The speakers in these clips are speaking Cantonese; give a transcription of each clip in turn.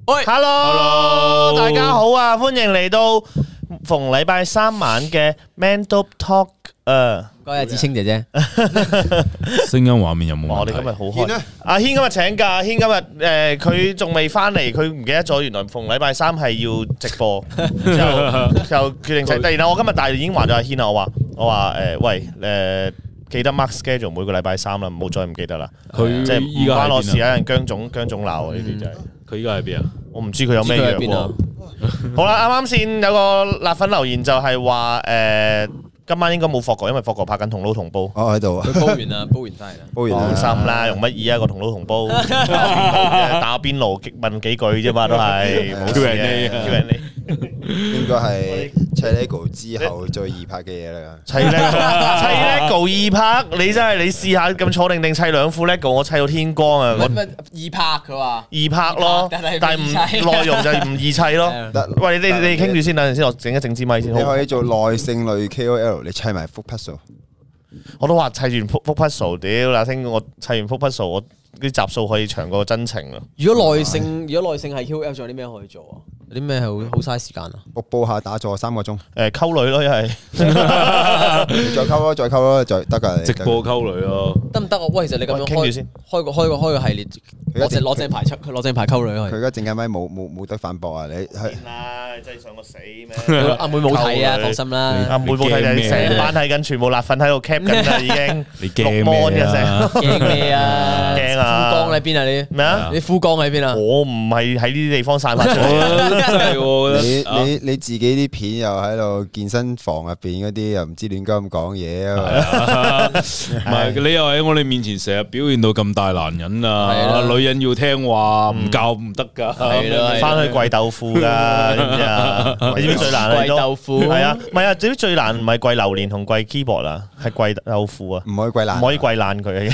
喂 ，Hello，大家好啊，歡迎嚟到逢禮拜三晚嘅 Man Dope Talk。 嗰日子清姐姐， 聲音畫面有冇問題？ 我哋今日好開，阿軒今日請假，阿軒今日佢仲未翻嚟，佢唔記得咗，原來逢禮拜三係要直播，就決定請。然後我今日但係已經話咗阿軒啦，我話喂記得 mark schedule 每個禮拜三啦，唔好再唔記得啦。 佢即係唔關我事，有人姜總鬧呢啲就係。 佢依家喺邊啊？ 我唔知佢有咩樣喎。好啦，啱啱先有個辣粉留言就係話今晚應該冇霍哥，因為霍哥拍緊同撈同煲。 我喺度， 佢煲完啦，煲完翻嚟啦。 煲完放心啦，用乜嘢啊個同撈同煲？打邊爐問幾句啫嘛，都係冇事嘅。Q&A 應該係砌 Lego 之後最易拍嘅嘢啦。 砌 Lego 易拍，你真係你試下咁坐定砌兩副 Lego，我砌到天光啊！ 易拍佢話易拍咯，但係唔內容就唔易砌咯。喂，你傾住先，等陣先，我整一整支咪先。 你可以做耐性類 KOL， 你砌埋幅 puzzle。 我都話砌完幅 puzzle， 屌嗱聽我砌完幅 puzzle， 我啲集數可以長過真情啊！ 如果耐性係 KOL， 仲有啲咩可以做啊？有啲咩係好嘥時間啊？ 播下打坐3個鐘， 溝女咯，一係再溝咯，再得㗎。 直播溝女咯， 得唔得啊？喂，其實你咁樣傾住先， 開個系列，攞正牌溝女佢而家陣間咪冇得反駁啊！你係啦，真係想我死咩？ 阿妹冇睇啊，放心啦。 阿妹冇睇，成班睇緊，全部辣粉喺度 cap 緊啦，已經。 你驚咩啊？ 驚咩啊？ 驚啊！ 富江喺邊啊？你咩啊？ 你富江喺邊啊？ 我唔係喺呢啲地方散發出嚟。 真係喎， 你自己啲片又喺度健身房入邊嗰啲，又唔知亂咁講嘢啊！ 唔係你又喺我哋面前成日表現到咁大男人啊！女人要聽話，唔教唔得噶。 係啦， 翻去跪豆腐噶，知唔知啊？你知唔知最難？ 跪豆腐係啊，唔係啊，至於最難唔係跪榴蓮同跪 keyboard 啊，係跪豆腐啊， 唔可以跪爛， 唔可以跪爛佢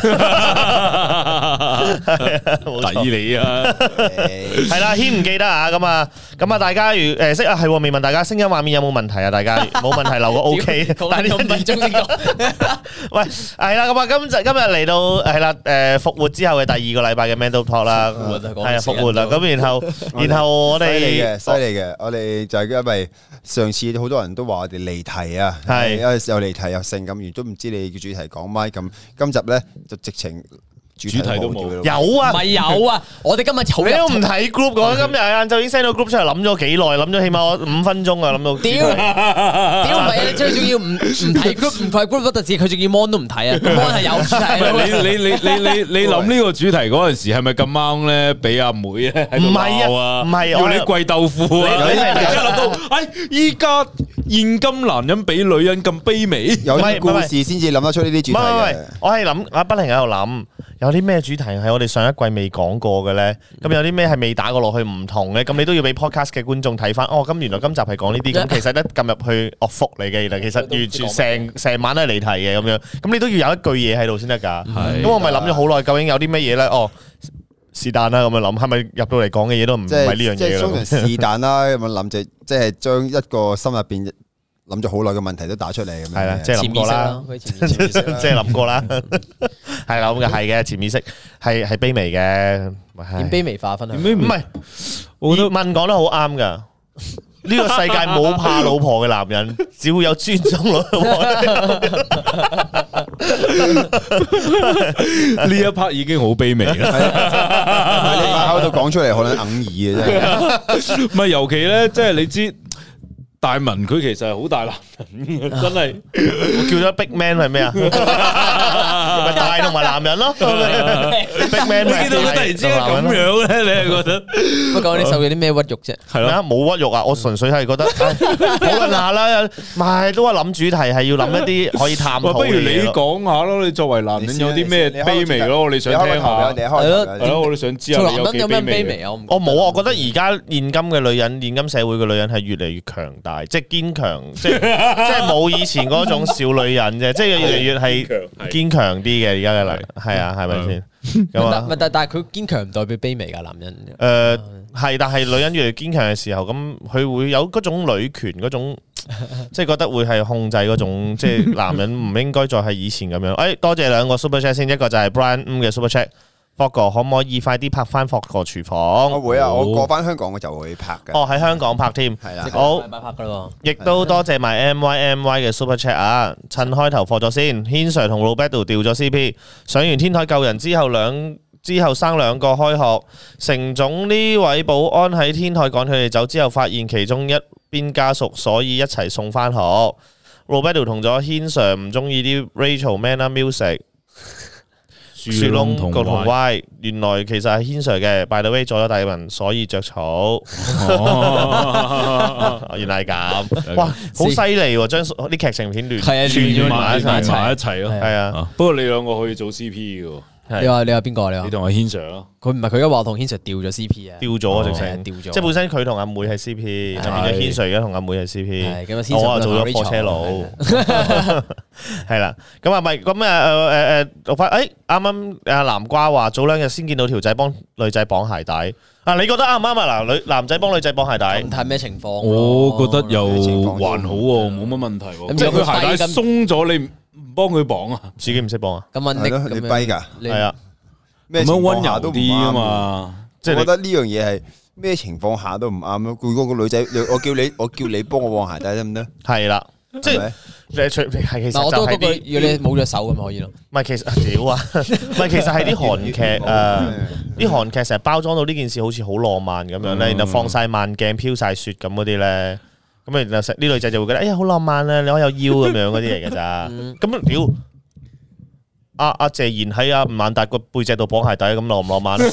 啊！ 抵你啊！ 係啦，軒唔記得啊，咁啊，大家如識啊，係未問大家聲音畫面有冇問題啊？大家冇問題留個 OK，但係5分鐘先講。喂，係啦，咁啊，今日嚟到係啦，復活之後嘅第2個禮拜嘅 Man Dope Talk 啦，係啊，復活啦，咁然後我哋犀利嘅，我哋就係因為上次好多人都話我哋離題啊， 係又離題又性咁，完都唔知你嘅主題講乜，咁今集咧就直情。主題都冇， 有啊， 唔係有啊！我哋今日好， 你都唔睇 group， 我今日晏晝已經 send 到 group 出嚟，諗咗幾耐，諗咗起碼5分鐘啊，諗到。 屌唔係，你最重要唔睇 group， 唔睇 group 嗰陣時，佢仲要 mon 都唔睇啊 ，mon 係有主題。 你諗呢個主題嗰陣時係咪咁啱咧？俾阿妹咧喺度鬧啊！ 唔係要你跪豆腐啊！你真係諗到，依家現今男人比女人咁卑微， 有啲故事先至諗得出呢啲主題嘅。 我係諗，我不停喺度諗。有啲咩主題係我哋上一季未講過嘅咧？咁有啲咩係未打過落去唔同嘅？咁你都要俾 podcast 嘅觀眾睇翻。哦，原來今集係講呢啲，咁其實咧撳入去福嚟嘅，其實完全成晚都係離題嘅咁樣。咁你都要有一句嘢喺度先得㗎。咁我咪諗咗好耐，究竟有啲咩嘢咧？哦，是但啦，咁樣諗，係咪入到嚟講嘅嘢都唔係呢樣嘢？ 即係通常是但啦，咁樣諗就即係將一個心入邊諗咗好耐嘅問題都打出嚟咁樣。 係啦，即係諗過啦，即係諗過啦。係啦，咁嘅係嘅，潛意識係卑微嘅， 點卑微化分享？ 唔係，我都問講得好啱噶。呢個世界冇怕老婆嘅男人，只會有尊重老婆。 呢一 part 已經好卑微啦。 你喺度講出嚟可能哽耳嘅啫。 唔係，尤其咧，即係你知。大文佢其實係好大男人嘅，真係我叫咗 Big Man 係咩啊？咪大同埋男人咯。Big Man， 你見到佢突然之間咁樣咧，你係覺得？ 不過你受咗啲咩屈辱啫？ 係咯，冇屈辱啊！我純粹係覺得討論下啦，咪都係諗主題係要諗一啲可以探討嘅嘢。 不如你講下咯，你作為男人有啲咩卑微咯？我哋想聽下。係咯，我哋想知下你有幾卑微啊？ 我冇啊！我覺得而家現今嘅女人，現今社會嘅女人係越嚟越強大。即係堅強，即係冇以前嗰種小女人啫，即係越嚟越係堅強啲嘅而家嘅女，係啊，係咪先？ 但係佢堅強唔代表卑微噶男人。 係，但係女人越嚟越堅強嘅時候，咁佢會有嗰種女權嗰種，即係覺得會係控制嗰種，即係男人唔應該再係以前咁樣。誒，多謝2個 super chat 先，一個就係 Brian 嘅 super chat。 霍哥可唔可以快啲拍翻霍哥廚房？ 我會啊，我過翻香港我就會拍嘅。 哦，喺香港拍添， 係啦， 好， 拍噶咯。 亦都多謝埋 MY 嘅 Super Chat 啊！趁開頭課咗先，軒 Sir 同 Roberto 調咗 CP， 上完天台救人之後生兩個開學，成總呢位保安喺天台趕佢哋走之後，發現其中一邊家屬，所以一齊送翻學。Roberto 同咗軒 Sir 唔中意啲 Rachel Manner Music。雪窿同 Y， 原來其實係軒 Sir 嘅 ，by the way 咗大文，所以着草。原來係咁，哇，好犀利喎！將啲劇情片亂埋一齊咯， 係啊。 不過你兩個可以做 CP 嘅。 你話邊個？你同阿軒 Sir 咯， 佢唔係佢而家話同軒 Sir 調咗 CP 啊， 調咗直情， 調咗， 即係本身佢同阿妹係 CP， 就變咗軒 Sir 而家同阿妹係 CP， 我啊做咗貨車佬，係啦，咁啊咪咁讀翻，啱啱阿南瓜話早兩日先見到條仔幫女仔綁鞋帶，啊，你覺得啱唔啱啊？嗱，男仔幫女仔綁鞋帶， 睇咩情況？ 我覺得又還好喎，冇乜問題喎。即係佢鞋帶鬆咗，你唔幫佢綁啊？ 自己唔識綁啊？ 咁問你跛㗎？ 係啊， 咩情況下都唔啱啊嘛？ 即係我覺得呢樣嘢係咩情況下都唔啱咯。如果個女仔，我叫你幫我綁鞋帶得唔得？ 係啦，即係其實我都嗰句，如果你冇咗手咁可以咯。 唔係其實屌啊，唔係其實係啲韓劇啲韓劇成日包裝到呢件事好似好浪漫咁樣咧，然後放晒慢鏡、飄晒雪咁嗰啲咧。咁啊，呢女仔就會覺得，哎呀，好浪漫啊！你可以有腰咁樣嗰啲嚟嘅咋？咁屌，阿謝賢喺阿吳孟達個背脊度綁鞋帶，咁浪唔浪漫？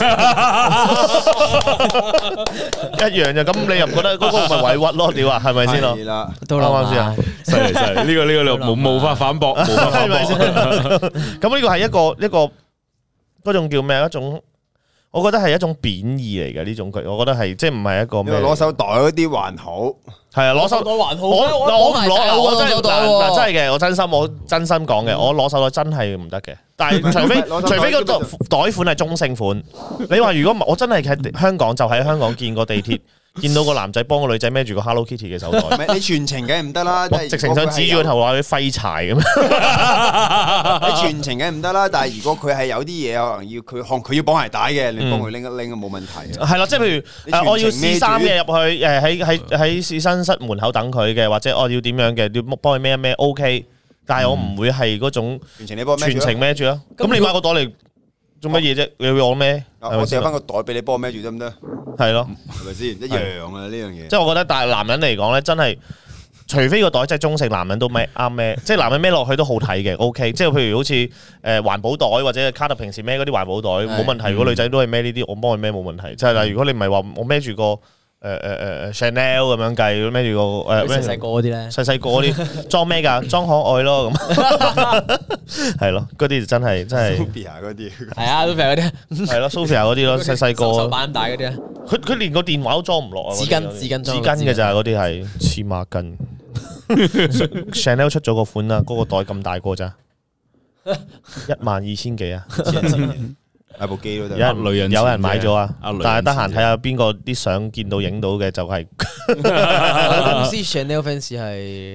一樣就咁，你又唔覺得嗰個唔係委屈咯？屌啊，係咪先咯？ 係啦， 都啱啱先啊？ 犀利，呢個你冇法反駁， 係咪先？咁呢個係一個嗰種叫咩？一種。我覺得係一種貶義嚟嘅呢種句，我覺得係即係唔係一個咩？ 攞手袋嗰啲還好， 係啊，攞手袋還好。我唔攞，我真係嘅，我真心講嘅，我攞手袋真係唔得嘅。但係除非個袋款係中性款，你話如果唔係，我真係喺香港就喺香港見過地鐵。見到個男仔幫個女仔孭住個 Hello Kitty 嘅手袋， 你全程梗係唔得啦， 直情想指住個頭話佢廢柴咁。 你全程梗係唔得啦，但係如果佢係有啲嘢可能要佢要綁鞋帶嘅，你幫佢拎一拎冇問題。 係啦，即係譬如我要試衫嘅入去，喺試身室門口等佢嘅，或者我要點樣嘅，要幫佢孭一孭 OK，但係我唔會係嗰種全程孭住啊。咁你買個袋嚟做乜嘢啫？你要我孭？ 我借翻個袋俾你幫我孭住得唔得？ 係咯， 係咪先一樣啊？呢樣嘢， 即係我覺得，但係男人嚟講咧，真係除非個袋真係中性，男人都孭啱孭，即係男人孭落去都好睇嘅 ，OK。即係譬如好似環保袋或者卡特平時孭嗰啲環保袋冇問題，如果女仔都係孭呢啲，我幫佢孭冇問題。即係如果你唔係話我孭住個Chanel 咁樣計，孭住個細個嗰啲咧， 細個嗰啲裝咩㗎？裝可愛咯咁，係咯，嗰啲真係 Sophia 嗰啲， 係啊 Sophia 嗰啲， 係咯 Sophia 嗰啲咯，細個手板大嗰啲啊， 佢連個電話都裝唔落啊！ 紙巾嘅咋嗰啲係黐孖筋。Chanel 出咗個款啦，嗰個袋咁大個咋，12000幾啊！ 買部機都得， 有人買咗啊！但係得閒睇下邊個啲相見到影到嘅就係公司 Chanel fans 係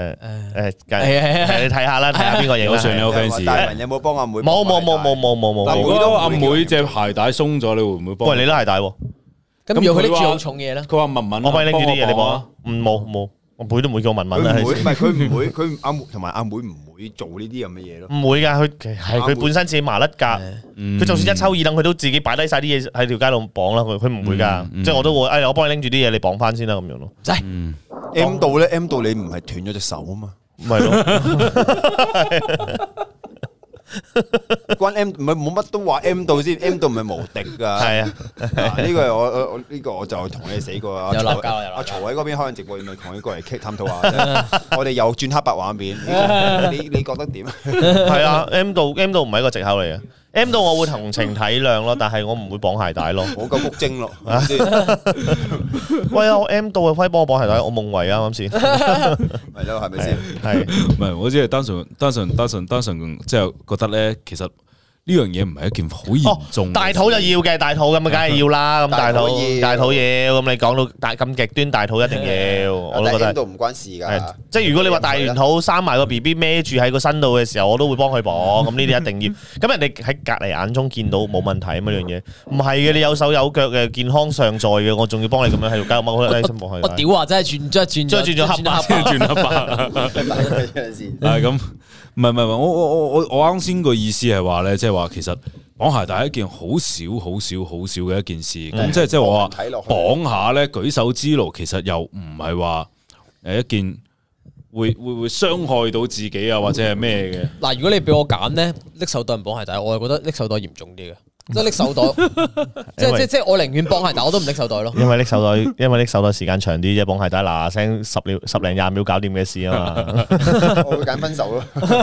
你睇下啦，睇下邊個影到 Chanel fans。 大文有冇幫阿妹？ 冇。 如果阿妹隻鞋帶鬆咗，你會唔會幫？ 喂，你都鞋帶喎。 咁如果佢拎住好重嘢咧？ 佢話文文， 我幫你拎住啲嘢，你幫啊？冇。我妹都唔會叫我文文啦。 唔係佢唔會，佢阿妹同埋阿妹唔會做呢啲咁嘅嘢咯。 唔會㗎，佢本身自己麻甩㗎。佢就算一抽二等，佢都自己擺低晒啲嘢喺條街度綁啦。佢唔會㗎，即係我都會。我幫你拎住啲嘢，你綁翻先啦咁樣咯。 M 到咧 ，M 到你唔係斷咗隻手啊嘛？ 唔係咯。 關 M 唔係冇乜都話 M 到先 ，M 到唔係無敵噶。 係啊， 呢個我呢個我就同你死過啊！ 有鬧交阿曹喺嗰邊開緊直播，咪同佢過嚟探討下。我哋又轉黑白畫面，你覺得點？ 係啊 ，M 到唔係一個藉口嚟嘅。M 到我會同情體諒咯，但係我唔會綁鞋帶咯。 我夠谷精咯， 喂啊！我 M 到啊，可以幫我綁鞋帶，我夢遺啊啱先。 係咯，係咪先？ 係， 唔係我只係單純，即係覺得咧，其實呢樣嘢唔係一件好嚴重。 大肚就要嘅，大肚咁啊，梗係要啦。咁大肚要，咁你講到咁極端，大肚一定要，我都覺得。 都唔關事㗎。 即係如果你話大完肚生埋個 BB 孭住喺個身度嘅時候，我都會幫佢綁。咁呢啲一定要。咁人哋喺隔離眼中見到冇問題咁樣嘢，唔係嘅，你有手有腳嘅健康尚在嘅，我仲要幫你咁樣喺度加踎喺度幫佢。 我屌啊！真係轉黑白。咁。唔係，我啱先個意思係話咧，即係話其實綁鞋帶係一件好少嘅一件事，咁即係我話綁下咧舉手之勞，其實又唔係話一件會傷害到自己啊或者係咩嘅。 嗱，如果你俾我揀咧，拎手袋唔綁鞋帶，我係覺得拎手袋嚴重啲嘅。即係拎手袋，即係我寧願綁鞋帶，我都唔拎手袋咯。因為拎手袋時間長啲啫，綁鞋帶嗱聲十零廿秒搞掂嘅事啊嘛。 我會揀分手咯。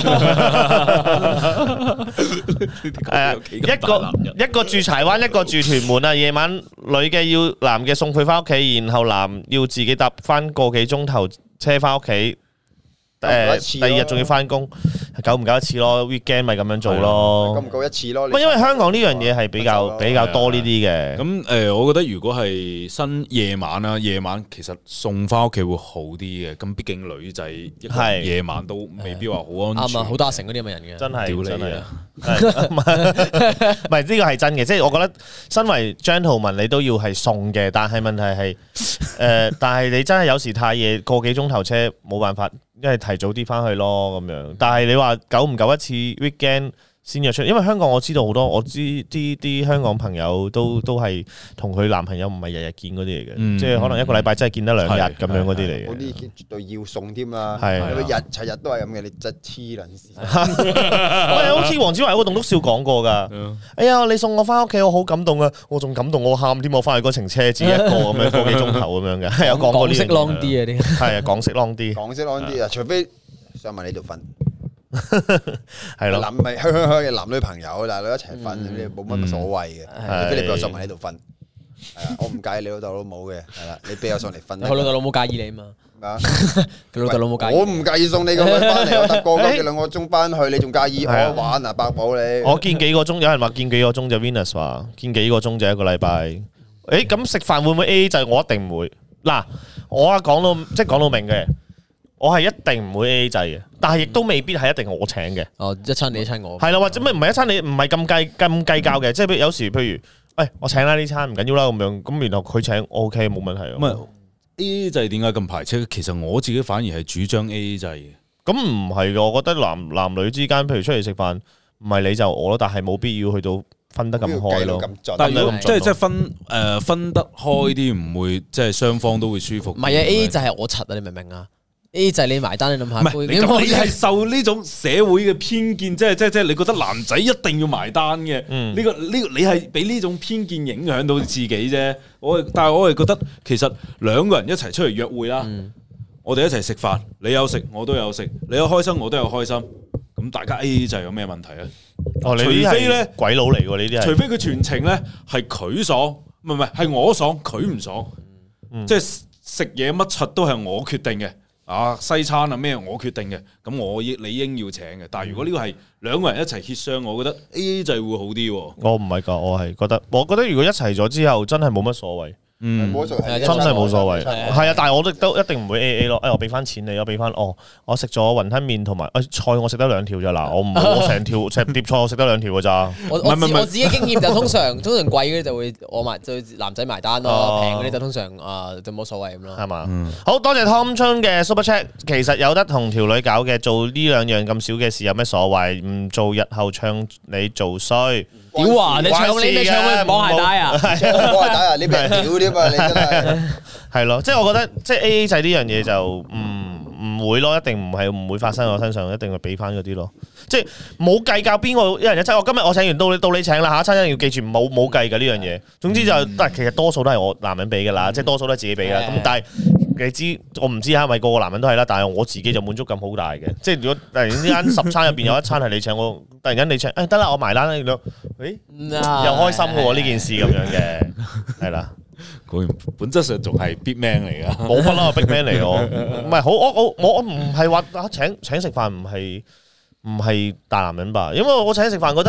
一個住柴灣，一個住屯門啊。夜晚女嘅要男嘅送佢翻屋企，然後男要自己搭翻個幾鐘頭車翻屋企。第二日仲要翻工，夠唔夠一次咯 ？weekend 咪咁樣做咯， 夠唔夠一次咯？ 因為香港呢樣嘢係比較多呢啲嘅。 咁我覺得如果係新夜晚啊，夜晚其實送翻屋企會好啲嘅。咁畢竟女仔夜晚都未必話好安全。 啱啊，好打成嗰啲咁嘅人嘅， 真係屌你啊！ 唔係呢個係真嘅，即係我覺得身為 gentleman 你都要係送嘅，但係問題係但係你真係有時太夜，個幾鐘頭車冇辦法。因為提早啲翻去咯咁樣，但係你話久唔久一次 weekend 先約出，因為香港我知道好多，我知啲香港朋友都係同佢男朋友唔係日日見嗰啲嚟嘅，即係可能一個禮拜真係見得2日咁樣嗰啲嚟嘅。 嗰啲絕對要送添啦， 係日都係咁嘅，你真黐撚線。 好似黃子華喺個棟篤笑講過㗎。哎呀，你送我翻屋企，我好感動啊！我仲感動，我喊添，我翻去嗰程車自己一個咁樣個幾鐘頭咁樣嘅，係有講過呢啲。 港式 long 啲啊啲。 係啊，港式 long 啲。 港式 long 啲啊，除非想問你度瞓。 係咯， 男咪香嘅男女朋友，男女一齊瞓，你冇乜所謂嘅。除非你俾我上埋喺度瞓，係啊，我唔介意你老豆老母嘅，係啦，你俾我上嚟瞓。 佢老豆老母介意你嘛？佢老豆老母介意。 我唔介意送你咁樣翻嚟，我搭個幾2個鐘翻去，你仲介意我玩啊？百寶你。 我見幾個鐘，有人話見幾個鐘就 Venus 話見幾個鐘就一個禮拜。誒，咁食飯會唔會 AA 制？我一定唔會。嗱，我講到明嘅。我係一定唔會 AA 制嘅，但係亦都未必係一定我請嘅。 哦，一餐你一餐我。係啦，或者咩唔係一餐你唔係咁計較嘅，即係有時譬如，我請啦呢餐唔緊要啦咁樣，咁然後佢請 OK 冇問題。 咁 AA 制點解咁排斥？其實我自己反而係主張 AA 制嘅。 咁唔係嘅，我覺得男女之間，譬如出嚟食飯，唔係你就我咯，但係冇必要去到分得咁開咯。 但係即係分得開啲，唔會即係雙方都會舒服。 唔係啊 ，AA 制係我柒啊，你明唔明啊？A 就係你埋單，你諗下。 唔係，你係受呢種社會嘅偏見，即係你覺得男仔一定要埋單嘅。呢個你係俾呢種偏見影響到自己啫。但係我係覺得其實兩個人一齊出嚟約會啦，我哋一齊食飯，你有食我都有食，你有開心我都有開心，咁大家 A 就有咩問題咧？除非咧鬼佬嚟喎呢啲， 除非佢全程咧係佢爽，唔係我爽，佢唔爽，即係食嘢乜柒都係我決定嘅。西餐啊咩我決定嘅，咁我理應要請嘅。但係如果呢個係兩個人一齊協商，我覺得 AA 制會好啲。我唔係㗎，我覺得如果一齊咗之後，真係冇乜所謂。真係冇所謂。係啊，但係我都一定唔會 AA 咯。我俾翻錢你，我俾翻我食咗雲吞麵同埋菜，我食得2條咋嗱，我成碟菜我食得2條㗎咋。 我自己經驗就通常貴嗰啲就會就男仔埋單咯，平嗰啲就通常就冇所謂咁咯。係嘛？好多謝 Tom Chun 嘅 Super Chat。其實有得同條女搞嘅，做呢2樣咁少嘅事有咩所謂？唔做日後唱你做衰。 屌啊！你唱佢綁鞋帶啊！ 綁鞋帶啊！你俾人屌添啊！你真係係咯，即係我覺得即係 AA 制呢樣嘢就唔會咯，一定唔會發生喺我身上，一定會俾翻嗰啲咯。即係冇計較邊個一人一餐。今日我請完到你請啦，下一餐一定要記住冇計㗎呢樣嘢。總之就其實多數都係我男人俾㗎啦，即係多數都係自己俾㗎。咁但係你知我唔知係咪個個男人都係啦，但係我自己就滿足感好大嘅。即係如果突然之間10餐入邊有一餐係你請，我突然間你請，得啦，我埋單啦，又開心嘅喎呢件事咁樣嘅，係啦。 本質上仲係 big man 嚟噶， 冇乜啦，big man 嚟我，唔係好我唔係話請食飯唔係大男人吧？因為我請食飯覺得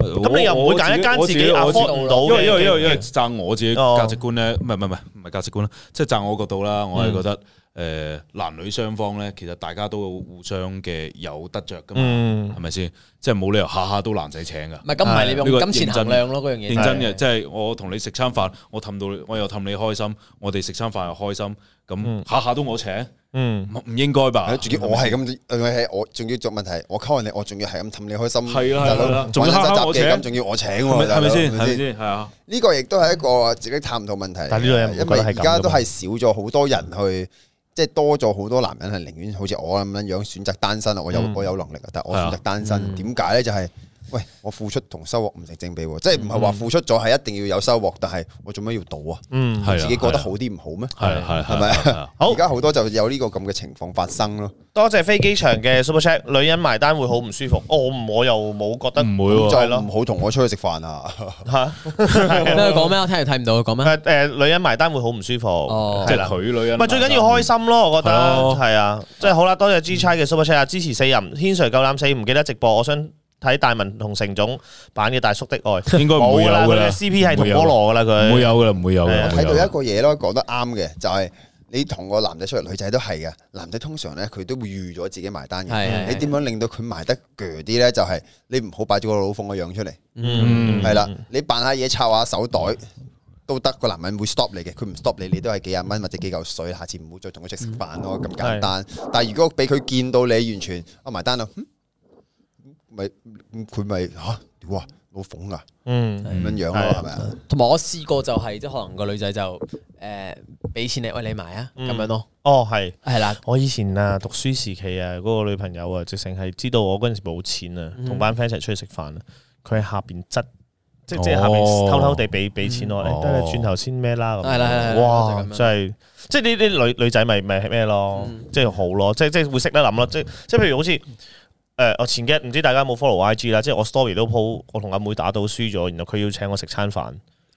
咁你又唔會揀一間自己 afford 唔到嘅？ 因為讚我自己價值觀咧，唔係價值觀啦，即係讚我角度啦，我係覺得。男女雙方咧，其實大家都互相嘅有得着噶嘛，係咪先？即係冇理由下下都男仔請噶。唔係咁，唔係你用金錢衡量咯，嗰樣嘢。認真嘅，即係我同你食餐飯，我又氹你開心，我哋食餐飯又開心，咁下下都我請，唔應該吧？ 仲要我係咁，我仲要做問題，我溝你，我仲要係咁氹你開心， 係啦，仲要下下我請， 仲要我請， 係咪先？係咪先？係啊， 呢個亦都係一個自己探討問題。 但係呢樣， 因為而家都係少咗好多人去。即係多咗好多男人係寧願好似我咁樣選擇單身啊！我有能力啊，但係我選擇單身，點解咧？就係喂，我付出同收穫唔成正比喎，即係唔係話付出咗係一定要有收穫，但係我做咩要賭啊？自己過得好啲唔好咩？係咪啊？好，而家好多就有呢個咁嘅情況發生咯。 多謝飛機場嘅 Super Chat，女人埋單會好唔舒服。我又冇覺得唔會喎， 就係咯，唔好同我出去食飯啊！ 嚇咩講咩？我聽又睇唔到，講咩？ 女人埋單會好唔舒服， 即係佢女人。 唔係最緊要開心咯，我覺得係啊，即係好啦。多謝 G 差嘅 Super Chat 啊，支持4人，天垂夠膽死，唔記得直播，我想睇大文同成總版嘅大叔的愛， 應該唔會有㗎啦。 CP 係同菠蘿㗎啦，佢唔會有㗎啦，唔會有。 睇到一個嘢咯，講得啱嘅就係。你同個男仔出嚟，女仔都係嘅。男仔通常咧，佢都會預咗自己埋單嘅。你點樣令到佢埋得鋸啲咧？就係你唔好擺咗個老鳳嘅樣出嚟。係啦，你扮下嘢，抄下手袋都得。個男人會 stop 你嘅，佢唔 stop 你，你都係幾廿蚊或者幾嚿水。下次唔好再同佢出去食飯咯，咁簡單。但係如果俾佢見到你完全埋單啦，咪佢咪嚇哇老鳳㗎，咁樣樣咯，係咪啊？ 同埋我試過就係即係可能個女仔就俾錢你，喂你買啊咁樣咯。 哦，係啦， 我以前啊讀書時期啊，嗰個女朋友啊，直情係知道我嗰陣時冇錢啊，同班 friend 一齊出去食飯啊，佢喺下邊執，即係下邊偷偷地俾錢我，得你轉頭先咩啦咁。係啦，哇，真係，即係呢啲女仔咪咩咯，即係好咯，即係會識得諗咯，即係譬如好似。我前幾日唔知大家有冇 follow IG 啦，即係我 story 都 po 我同阿妹打到輸咗，然後佢要請我食餐飯，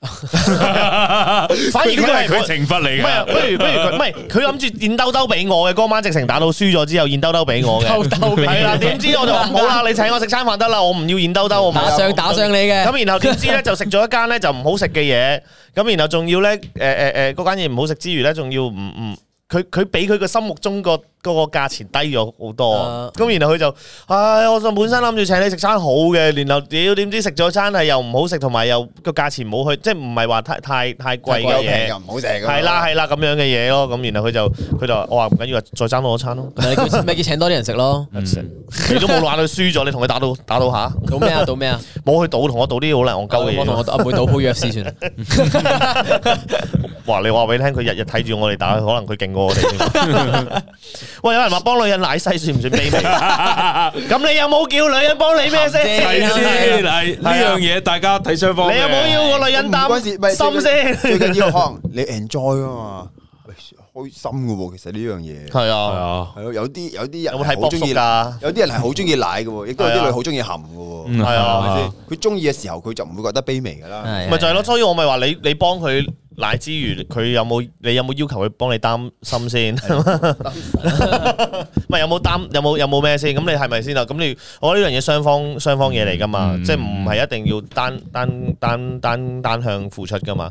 反而佢係佢懲罰嚟嘅。不如佢唔係佢諗住現兜兜俾我嘅，嗰晚直情打到輸咗之後現兜兜俾我嘅，係啦，點知我就話唔好啦，你請我食餐飯得啦，我唔要現兜兜，我打上你嘅。咁然後點知咧就食咗一間咧就唔好食嘅嘢，咁然後仲要咧嗰間嘢唔好食之餘咧，仲要唔佢比佢個心目中個價錢低咗好多，咁然後佢就，我就本身諗住請你食餐好嘅，然後點知食咗餐係又唔好食，同埋又個價錢冇去，即係唔係話太貴嘅嘢， 又唔好食， 係啦咁樣嘅嘢咯，咁然後佢就我話唔緊要，再爭多餐咯， 咪叫請多啲人食咯， 你都冇話佢輸咗，你同佢打到下， 賭咩啊？賭咩啊？ 冇去賭，同我賭啲好難戇鳩嘅嘢， 我同我阿妹賭鋪 UFC 算啦。 哇！你話俾你聽，佢日日睇住我哋打，可能佢勁過我哋。喂，有人話幫女人奶西算唔算卑微？咁你有冇叫女人幫你咩先？ 係先，係呢樣嘢，大家睇雙方。 你有冇要個女人擔心先？ 最緊要可能你 enjoy 啊嘛，開心嘅喎。其實呢樣嘢係啊， 係咯，有啲人有冇睇好中意㗎？ 有啲人係好中意奶嘅喎，亦都有啲女好中意含嘅喎。 係啊， 佢中意嘅時候，佢就唔會覺得卑微㗎啦。 咪就係咯，所以我咪話你幫佢奶之餘，你有冇要求佢幫你擔心先？咪有冇咩先？咁你係咪先啊？咁我覺得呢樣嘢雙方嘢嚟㗎嘛，即係唔係一定要單向付出㗎嘛？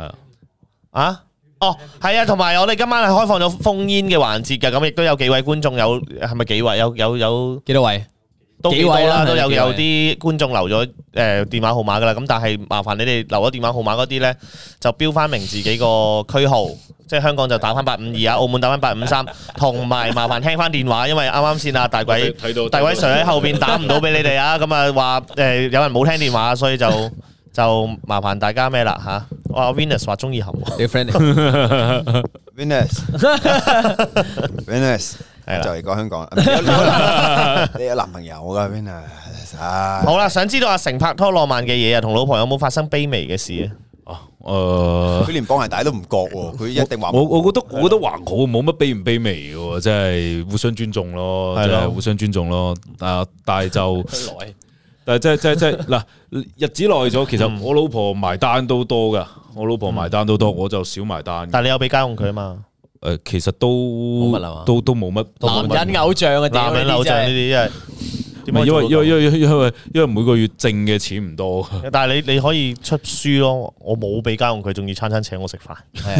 係啊，同埋我哋今晚係開放咗烽煙嘅環節嘅，咁亦都有幾位觀眾係咪幾位？有幾多位？ 都幾多啦，都有啲觀眾留咗電話號碼噶啦，咁但係麻煩你哋留咗電話號碼嗰啲咧，就標翻明自己個區號，即係香港就打翻852啊，澳門打翻853，同埋麻煩聽翻電話，因為啱啱先啊大鬼 Sir 喺後邊打唔到俾你哋啊，咁啊話有人冇聽電話，所以就麻煩大家咩啦嚇？哇 Venus 話中意含你 friend 嚟 Venus 係啦，就嚟講香港，你有男朋友噶 Venus？ 好啦，想知道阿成拍拖浪漫嘅嘢啊，同老婆有冇發生卑微嘅事啊？ 佢連綁鞋帶都唔覺喎，佢一定話我覺得還好，冇乜卑唔卑微嘅，即係互相尊重咯，即係互相尊重咯。但係就。但係即係嗱，日子耐咗，其實我老婆埋單都多噶，我就少埋單。 但係你有俾家用佢啊嘛？ 其實都冇乜。 男人偶像啊， 男人偶像呢啲真係點解因為每個月掙嘅錢唔多， 但係你可以出書咯，我冇俾家用，佢仲要餐餐請我食飯。 係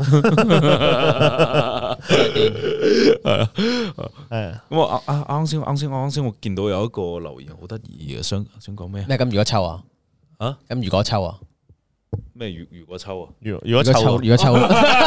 啊， 咁我啱先我見到有一個留言好得意嘅，想講咩？ 咩咁如果抽啊？ 啊？ 咁如果抽啊？ 咩如果抽啊？ 如果抽， 如果抽，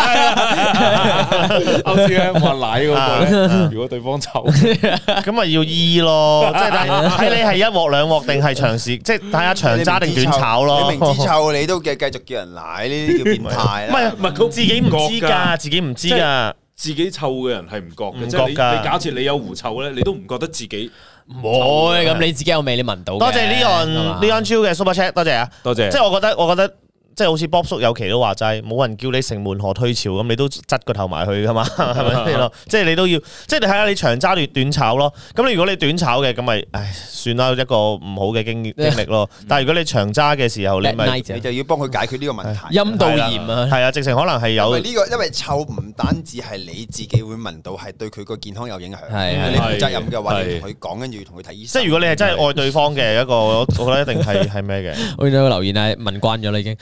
啱先話奶嗰個咧，如果對方抽， 咁咪要醫咯，即係睇你係一鑊兩鑊定係長時，即係睇下長揸定短炒咯。 你明知臭你都繼續叫人奶，呢啲叫變態啦。 唔係佢自己唔知㗎，自己唔知㗎。 自己臭嘅人係唔覺嘅， 唔即係你覺㗎假設你有狐臭咧，你都唔覺得自己唔會咁你自己有味，你聞到嘅。 多謝呢個 Q 嘅 Super Chat， 多謝啊， 多謝。 即係我覺得。即係好似 Bob 叔有期都話齋，冇人叫你城門河退潮咁，你都側個頭埋去噶嘛，係咪先咯？即係你都要，即係你睇下你長揸短炒咯。咁你如果你短炒嘅，咁咪算啦，一個唔好嘅經歷咯。但係如果你長揸嘅時候，你就要幫佢解決呢個問題。 陰道炎啊， 係啊，直情可能係有呢個，因為臭唔單止係你自己會聞到，係對佢個健康有影響。 係你負責任嘅話，你同佢講，跟住同佢睇醫生。 即係如果你係真係愛對方嘅一個，我覺得一定係咩嘅。 我見到個留言係聞慣咗啦，已經。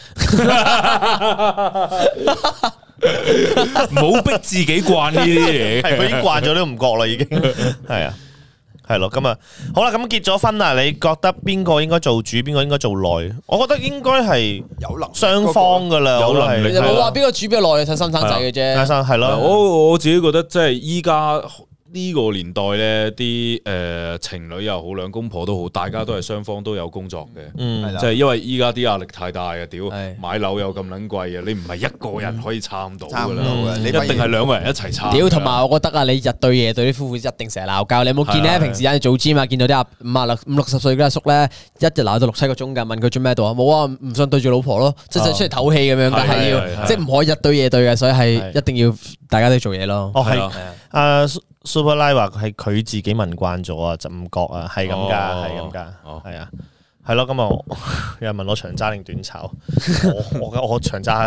唔好逼自己慣呢啲嘢， 係佢已經慣咗都唔覺啦，已經係啊，係咯，咁啊，好啦，咁結咗婚啦，你覺得邊個應該做主，邊個應該做內？我覺得應該係有能雙方噶啦， 有能力。 冇話邊個主邊個內，睇生唔生仔嘅啫。 係咯， 我自己覺得即係依家。呢個年代咧，啲情侶又好，兩公婆都好，大家都係雙方都有工作嘅，即係因為依家啲壓力太大嘅，屌買樓又咁撚貴嘅，你唔係一個人可以撐到㗎啦，你一定係兩個人一齊撐。 屌，同埋我覺得啊，你日對夜對啲夫婦一定成日鬧交。你有冇見咧？平時有做 gym 啊，見到啲五六十歲嗰阿叔咧，一日鬧到6-7個鐘㗎，問佢做咩度啊？冇啊，唔想對住老婆咯，即係出嚟唞氣咁樣，但係要即係唔可以日對夜對嘅，所以係一定要大家都做嘢咯。 哦，係Super Lie 話係佢自己聞慣咗啊，就唔覺啊，係咁㗎，係咁㗎，係啊，係咯，咁啊，有人問我長揸定短炒，我長揸，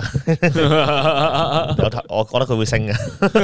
我覺得佢會升嘅，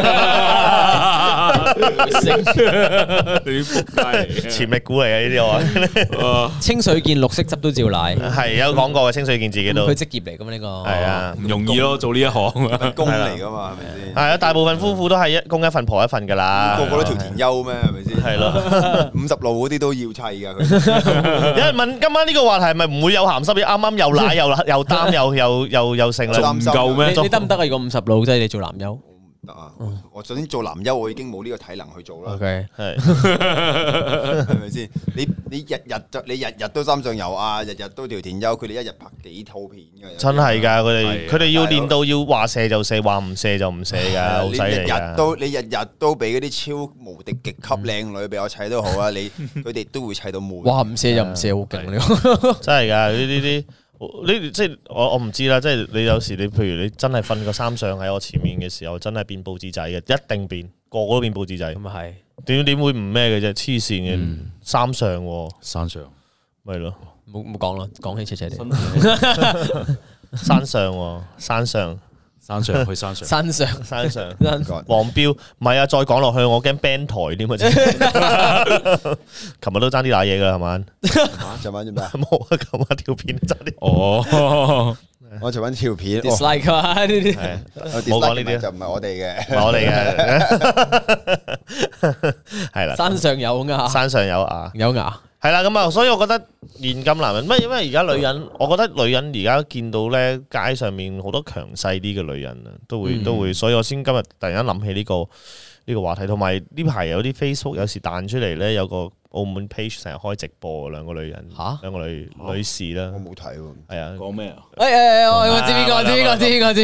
潛力股嚟嘅呢啲我， 清水健綠色汁都照奶， 係有講過嘅，清水健自己都， 佢職業嚟㗎嘛呢個，係啊，唔容易咯，做呢一行工嚟㗎嘛，係咪先？ 係啊，大部分夫婦都係一公一份婆一份㗎啦， 個個都條田優咩？係咪先？係咯 ，50路嗰啲都要砌㗎。佢有人問今晚呢個話題係咪唔會有鹹濕嘢？啱啱又奶又擔又剩啦， 唔夠咩？ 你得唔得啊？如果50路即係你做男優？ 得啊！我首先做男優，我已經冇呢個體能去做啦。 OK， 係咪先？你日日都三上游啊，日日都條田優，佢哋一日拍幾套片㗎。 真係㗎，佢哋要練到要話射就射，話唔射就唔射㗎，好犀利㗎。 你日日都俾嗰啲超無敵極級靚女俾我砌都好啊！佢哋都會砌到悶。 哇！唔射就唔射，好勁呢個。 真係㗎，呢即係我唔知啦，即係你有時你譬如你真係瞓個三上喺我前面嘅時候，真係變報紙仔嘅，一定變，個個都變報紙仔。 咁啊係，點會唔咩嘅啫？黐線嘅三上， 山上咪咯， 冇講啦，講起斜斜地。 山上，山上。 山上去山上， 山上，黃標，唔係啊！再講落去，我驚 ban 台添啊！琴日都爭啲打嘢噶，係嘛？ 尋晚做咩？ 冇啊！琴晚條片爭啲。 哦， 我尋晚條片 dislike 啊呢啲， 冇講呢啲就唔係我哋嘅， 唔係我哋嘅，係啦。 山上有牙， 山上有牙， 有牙。 係啦，咁啊，所以我覺得現今男人，因為而家女人，我覺得女人而家見到咧街上面好多強勢啲嘅女人啊，都會，所以我先今日突然間諗起呢個話題，同埋呢排有啲 Facebook 有時彈出嚟咧，有個澳門 page 成日開直播，兩個女人，兩個女士啦， 我冇睇喎， 係啊， 講咩啊？ 我知邊個，我知邊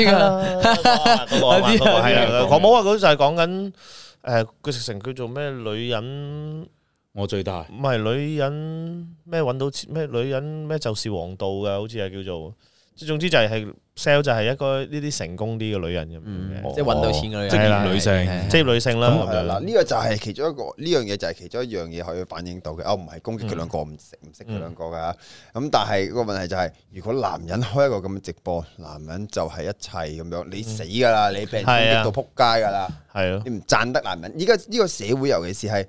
個， 係啊，我冇話佢就係講緊佢直情叫做咩女人。 我最大唔係女人咩揾到錢咩女人咩就是王道嘅，好似係叫做，即係總之就係 sell 就係一個呢啲成功啲嘅女人咁樣， 即係揾到錢嘅女人， 職業女性， 職業女性啦。 嗱呢個就係其中一個，呢樣嘢就係其中一樣嘢可以反映到嘅。我唔係攻擊佢兩個，唔識佢兩個噶。咁但係個問題就係，如果男人開一個咁嘅直播，男人就係一切咁樣，你死噶啦，你俾人攻擊到撲街噶啦， 係咯， 你唔讚得男人。依家呢個社會尤其是係。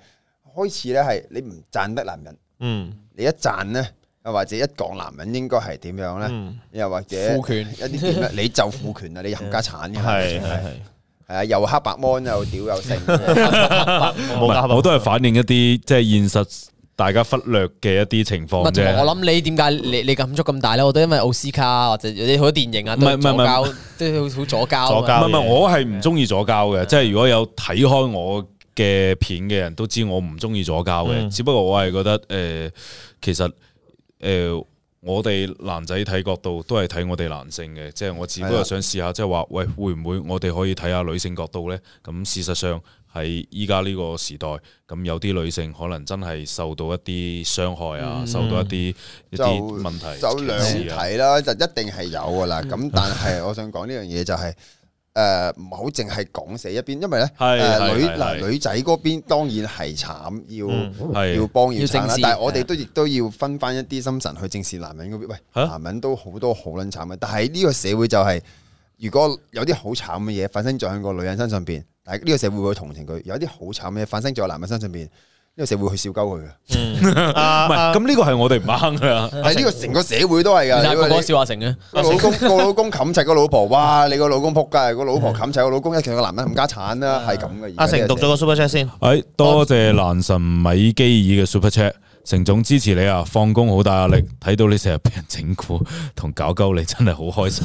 開始咧係你唔讚得男人，你一讚咧，又或者一講男人應該係點樣咧，又或者父權一啲點咧，你就父權啦，你冚家產嘅， 係啊，又黑白芒又屌又剩， 我都係反映一啲即係現實大家忽略嘅一啲情況啫。 我諗你點解你感觸咁大咧？我都因為奧斯卡或者有啲好多電影啊，都左膠，都好左膠。 唔係，我係唔中意左膠嘅。即係如果有睇開我嘅片嘅人都知我唔中意左膠嘅。只不過我係覺得其實我哋男仔睇角度都係睇我哋男性嘅，即係我只不過想試下，即係話喂，會唔會我哋可以睇下女性角度呢？咁事實上喺依家呢個時代，咁有啲女性可能真係受到一啲傷害啊，受到一啲問題， 就兩睇啦，就一定係有噶啦。咁但係我想講呢樣嘢就係唔好淨係講死一邊，因為咧女仔嗰邊當然係慘，要幫要撐啦。但係我哋亦都要分翻一啲心神去正視男人嗰邊。喂，男人都好多好撚慘嘅，但係呢個社會就係如果有啲好慘嘅嘢發生咗喺個女人身上邊，但係呢個社會會同情佢；有啲好慘嘅嘢發生咗喺男人身上邊，呢個社會去笑鳩佢嘅。 唔係，咁呢個係我哋唔啱噶， 係呢個成個社會都係噶。 個個笑話成嘅， 個老公冚柒個老婆，哇！你個老公仆街，個老婆冚柒個老公，一其實個男人冚家產啦，係咁嘅。 阿成讀咗個 super chat 先， 多謝蘭神米基爾嘅 super chat。成總支持你啊！放工好大壓力，睇到你成日俾人整蠱同搞鳩你，真係好開心。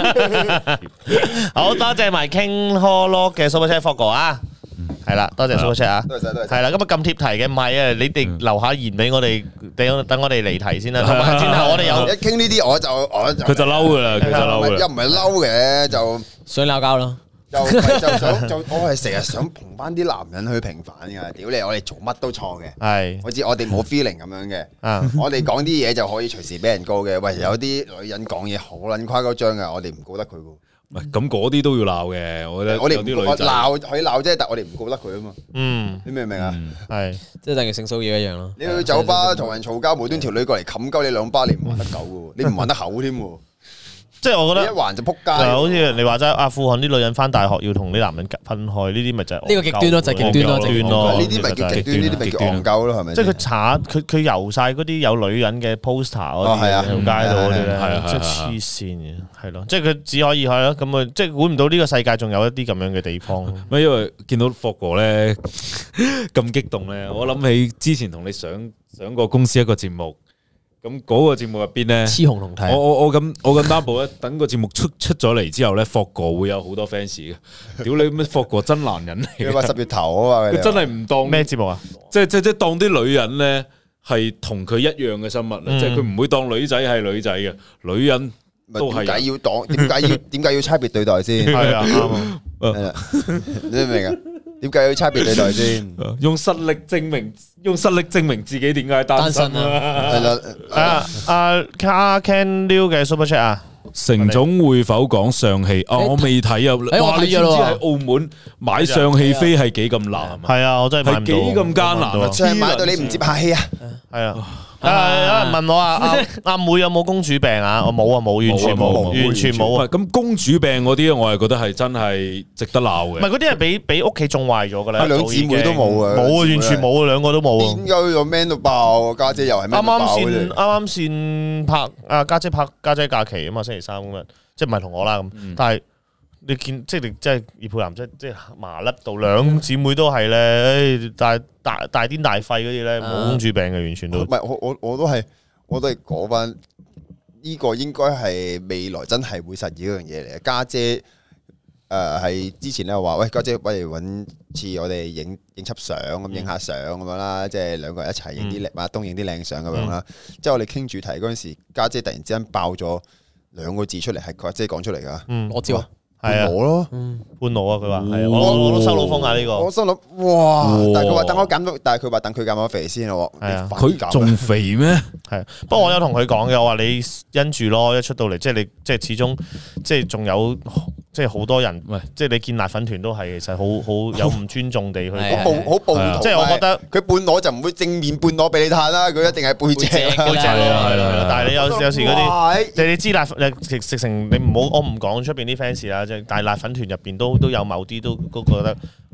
好多謝埋 King Hollow 嘅 super chat 霍哥啊，係啦，多謝 super chat 啊， 多謝， 係啦，咁啊咁貼題嘅，唔係啊，你哋留下言俾我哋，等我哋離題先啦。同埋轉頭我哋有一傾呢啲，我就佢就嬲噶啦，佢就嬲噶啦， 又唔係嬲嘅，就想鬧交咯。 就我係成日想捧翻啲男人去平反噶，屌你！我哋做乜都錯嘅， 係我知我哋冇 feeling 咁樣嘅，我哋講啲嘢就可以隨時俾人告嘅。喂，有啲女人講嘢好撚誇張噶，我哋唔告得佢噶。 唔係咁嗰啲都要鬧嘅，我覺得我哋有啲女仔鬧可以鬧啫，但我哋唔告得佢啊嘛。你明唔明啊？ 係即係等於性騷擾一樣咯。 你去酒吧同人嘈交，無端條女過嚟冚鳩你兩巴，你唔還得狗噶，你唔還得口添。 即係我覺得一還就撲街， 好似你話齋阿富汗啲女人翻大學要同啲男人分開，呢啲咪就係呢個極端咯，就係極端咯， 呢啲咪叫極端，呢啲咪叫戇鳩咯，係咪？ 即係佢油晒嗰啲有女人嘅 poster 嗰啲喺條街度嗰啲咧，即係黐線嘅，係咯，即係佢只可以係咯，咁啊，即係估唔到呢個世界仲有一啲咁樣嘅地方。 因為見到霍哥咧咁激動咧，我諗起之前同你上過公司一個節目。咁嗰個節目入邊咧， 雌雄同體。 我咁擔保咧，等個節目出咗嚟之後咧，霍哥會有好多 fans 嘅。屌你咩霍哥真男人嚟？ 你話10月頭啊嘛， 佢真係唔當咩節目啊？即係當啲女人咧係同佢一樣嘅生物啊！即係佢唔會當女仔係女仔嘅，女人都係。 點解要當？點解要差別對待先？ 係啊，啱啊。 你明唔明啊？點解要差別對待先？ 用實力證明自己點解單身啊！ 係啦， 阿 Ken Liu 嘅 Super Chat 啊， 成總會否講上戲？我未睇啊！哇，你知唔知喺澳門買上戲飛係幾咁難？ 係啊，我真係買唔到。 係幾咁艱難啊！ 即係買到你唔接客氣啊！ 係啊。有人問我啊，阿妹有冇公主病啊？我冇啊，冇，完全冇啊。 咁公主病嗰啲，我係覺得係真係值得鬧嘅。 唔係嗰啲係俾屋企種壞咗噶啦。 兩姊妹都冇啊， 冇啊，完全冇啊，兩個都冇啊。 點解個 man 到爆？家姐又係 man 到爆嘅。 啱先拍家姐拍家姐假期啊嘛，星期三咁樣，即係唔係同我啦咁，但係。你見即係你即係葉佩南即係麻甩到兩姊妹都係咧，大癲大肺嗰啲咧冇公主病嘅，完全都唔係我都係講翻呢個應該係未來真係會實現一樣嘢嚟嘅。家姐係之前咧話喂，家姐不如揾次我哋影輯相咁影下相咁樣啦，即係兩個人一齊影啲靚東影啲靚相咁樣啦。即係我哋傾主題嗰陣時，家姐突然之間爆咗2個字出嚟，係佢即係講出嚟噶。 我知啊。 係啊， 我咯， 半裸啊！佢話係啊，我都收到風啊呢個。 我心諗哇，但係佢話等我減到，但係佢話等佢減咗肥先咯。 係啊， 佢仲肥咩？ 係，不過我有同佢講嘅，我話你因住咯，一出到嚟，即係你即係始終即係仲有即係好多人，即係你見辣粉團都係其實好有唔尊重地去好暴徒。即係我覺得佢半裸就唔會正面半裸俾你睇啦，佢一定係背脊。 係啦，但係你有時嗰啲，你知辣直成你唔好，我唔講出邊啲 fans 啦。但係辣粉團入邊都有某啲都覺得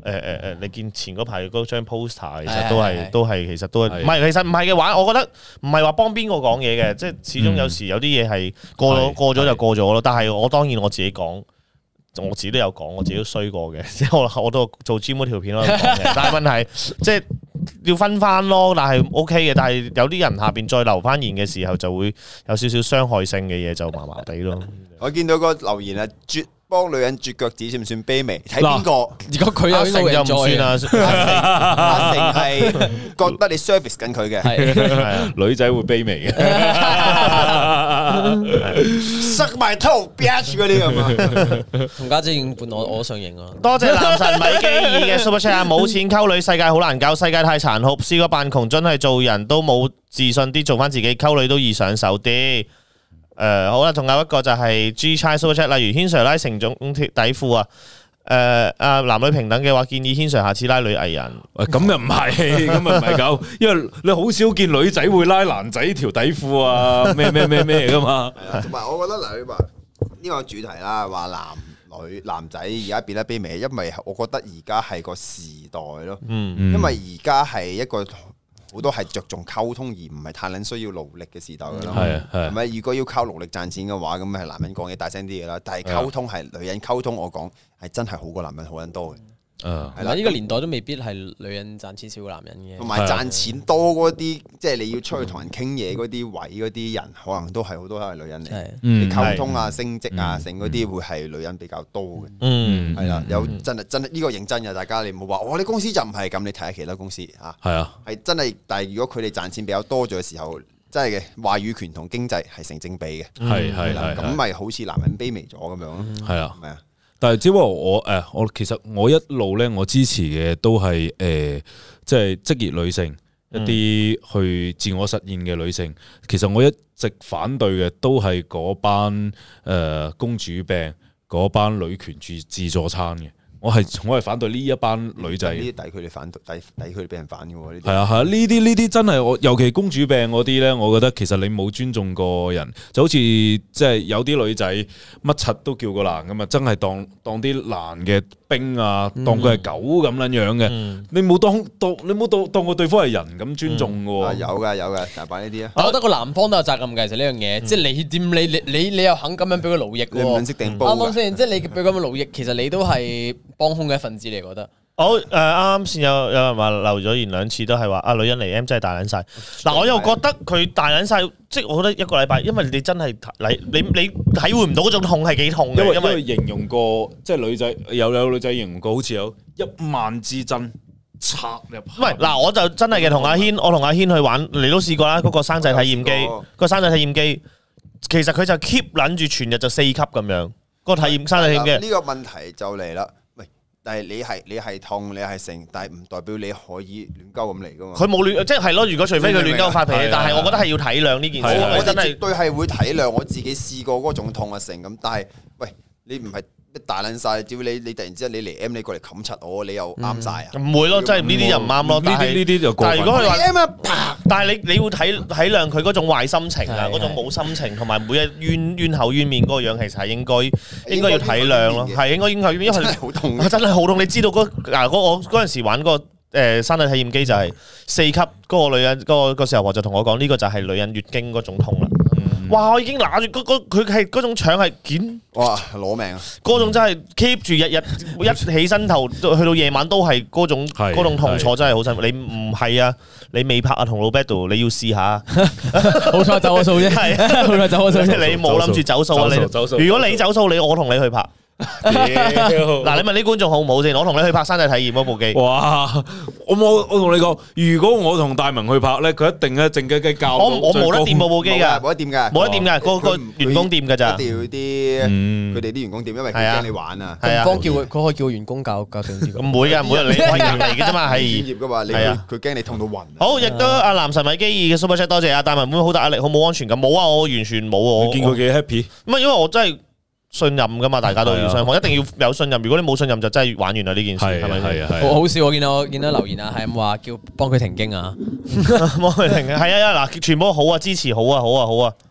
你見前嗰排嗰張 poster 其實係都係其實都係唔係其實唔係嘅話，我覺得唔係話幫邊個講嘢嘅，即係始終有時有啲嘢係過咗就過咗咯。但係我當然我自己講。我自己都有講，我自己都衰過嘅，即係我都做 gym 嗰條片都有講嘅。但係問題即係要分翻咯，但係 OK 嘅。但係有啲人下邊再留翻言嘅時候，就會有少少傷害性嘅嘢，就麻麻地咯。 我見到個留言啊，幫女人絕腳趾算唔算卑微？睇邊個？ 如果佢有呢個就唔算啦。 阿成係覺得你 service 緊佢嘅， 女仔會卑微嘅， 塞埋頭 bitch 嗰啲咁啊！ 同家姐已經伴我上映啊！ 多謝男神米基爾嘅 super chat，冇錢溝女，世界好難搞，世界太殘酷，試過扮窮，真係做人都冇自信啲，做翻自己，溝女都易上手啲。好啦，仲有一個就係 G Chai Super Chat，例如軒 Sir 拉成總底褲啊，男女平等嘅話，建議軒 Sir 下次拉女藝人。 咁又唔係，咁又唔係咁，因為你好少見女仔會拉男仔條底褲啊，咩噶嘛。 同埋我覺得嗱，你話呢個主題啦，話男仔而家變得卑微，因為我覺得而家係個時代咯，因為而家係一個。好多係着重溝通而唔係太撚需要勞力嘅時代㗎咯，係咪？如果要靠勞力賺錢嘅話，咁係男人講嘢大聲啲嘅啦。但係溝通係女人溝通，我講係真係好過男人好撚多嘅。 係啦，呢個年代都未必係女人賺錢少過男人嘅。 同埋賺錢多嗰啲，即係你要出去同人傾嘢嗰啲位嗰啲人，可能都係好多都係女人嚟。你溝通啊、升職啊、成嗰啲會係女人比較多嘅。係啦，有真係呢個認真嘅，大家你唔好話我哋公司就唔係咁，你睇下其他公司嚇。係啊，係真係，但係如果佢哋賺錢比較多咗嘅時候，真係嘅話語權同經濟係成正比嘅。係啦，咁咪好似男人卑微咗咁樣咯。係啊，係啊。 但係只不過我其實我一路咧，我支持嘅都係即係職業女性，一啲去自我實現嘅女性。其實我一直反對嘅都係嗰班公主病，嗰班女權自助餐嘅。我係反對呢一班女仔， 呢啲抵佢哋反對，抵佢哋俾人反嘅喎。呢啲係啊係啊，呢啲真係我，尤其公主病嗰啲咧，我覺得其實你冇尊重過人，就好似即係有啲女仔乜柒都叫個男咁啊，真係當啲男嘅兵啊，當佢係狗咁樣樣嘅，你冇當過對方係人咁尊重嘅喎。 有㗎，大把呢啲啊。 我覺得個男方都有責任嘅，其實呢樣嘢，即係你又肯咁樣俾佢勞役喎， 你唔識定煲㗎。 啱啱先？即係你俾佢咁樣勞役，其實你都係幫兇嘅一份子嚟，覺得。 好啱啱先有人話留咗言2次都係話女人嚟 M 真係大撚晒。嗱我又覺得佢大撚晒，即係我覺得一個禮拜，因為你真係你體會唔到嗰種痛係幾痛嘅， 因為形容過即係女仔有女仔形容過，好似有10000支針插入。 唔係嗱，我就真係嘅同阿軒去玩，你都試過啦。嗰個生仔體驗機，個生仔體驗機，其實佢就 keep 撚住全日就4級咁樣。個體驗生仔體驗機。 呢個問題就嚟啦。但係你係痛，你係成，但係唔代表你可以亂鳩咁嚟噶嘛。佢冇亂，即係咯。如果除非佢亂鳩發脾氣，但係我覺得係要體諒呢件事。 我真係絕對係會體諒，我自己試過嗰種痛啊成咁。但係喂，你唔係大撚晒，只要你突然之間你嚟 M， 你過嚟冚柒我，你又啱晒啊？唔會咯，真係呢啲就唔啱咯。呢啲就過分。但係如果佢話 M 啊，但係你要體諒佢嗰種壞心情啊，嗰種冇心情，同埋每日冤口冤面嗰個樣，其實係應該要體諒咯。係應該，因為真係好痛，真係好痛。你知道我嗰陣時玩嗰個生理體驗機就係4級，嗰個女人嗰個時候就同我講，呢個就係女人月經嗰種痛啦。哇！我已經拿住佢係嗰種腸係剪， 哇攞命啊！ 嗰種真係 keep 住日一起身頭去到夜晚都係嗰種痛楚，真係好辛苦。你唔係啊？你未拍啊同老 battle， 你要試下。 好彩走我數啫，係好彩走我數啫。 你冇諗住走數啊？你如果你走數，我同你去拍。嗱，你問啲觀眾好唔好先？我同你去拍山仔體驗嗰部機。哇！ 我同你講，如果我同大文去拍咧，佢一定咧靜雞教我冇得掂部機㗎， 冇得掂㗎， 冇得掂㗎，個員工掂㗎咋。 一定要佢哋啲員工掂，因為佢驚你玩啊。 係啊，方叫佢可以叫員工教定啲。 唔會㗎，唔會，你係人嚟嘅啫嘛，係專業㗎嘛。係啊，佢驚你痛到暈。 好，亦都阿男神米基爾嘅 super chat，多謝阿大文，會好大壓力，好冇安全感。冇啊，我完全冇啊。 我見佢幾 happy。 唔係因為我真係。信任噶嘛，大家都要雙方，一定要有信任。如果你冇信任，就真係玩完啦呢件事，係咪？係啊， 好笑！我見到留言啊，係咁話叫幫佢停經啊， 幫佢停經。係啊，嗱，全部好啊，支持好啊，好啊，好啊， 屌，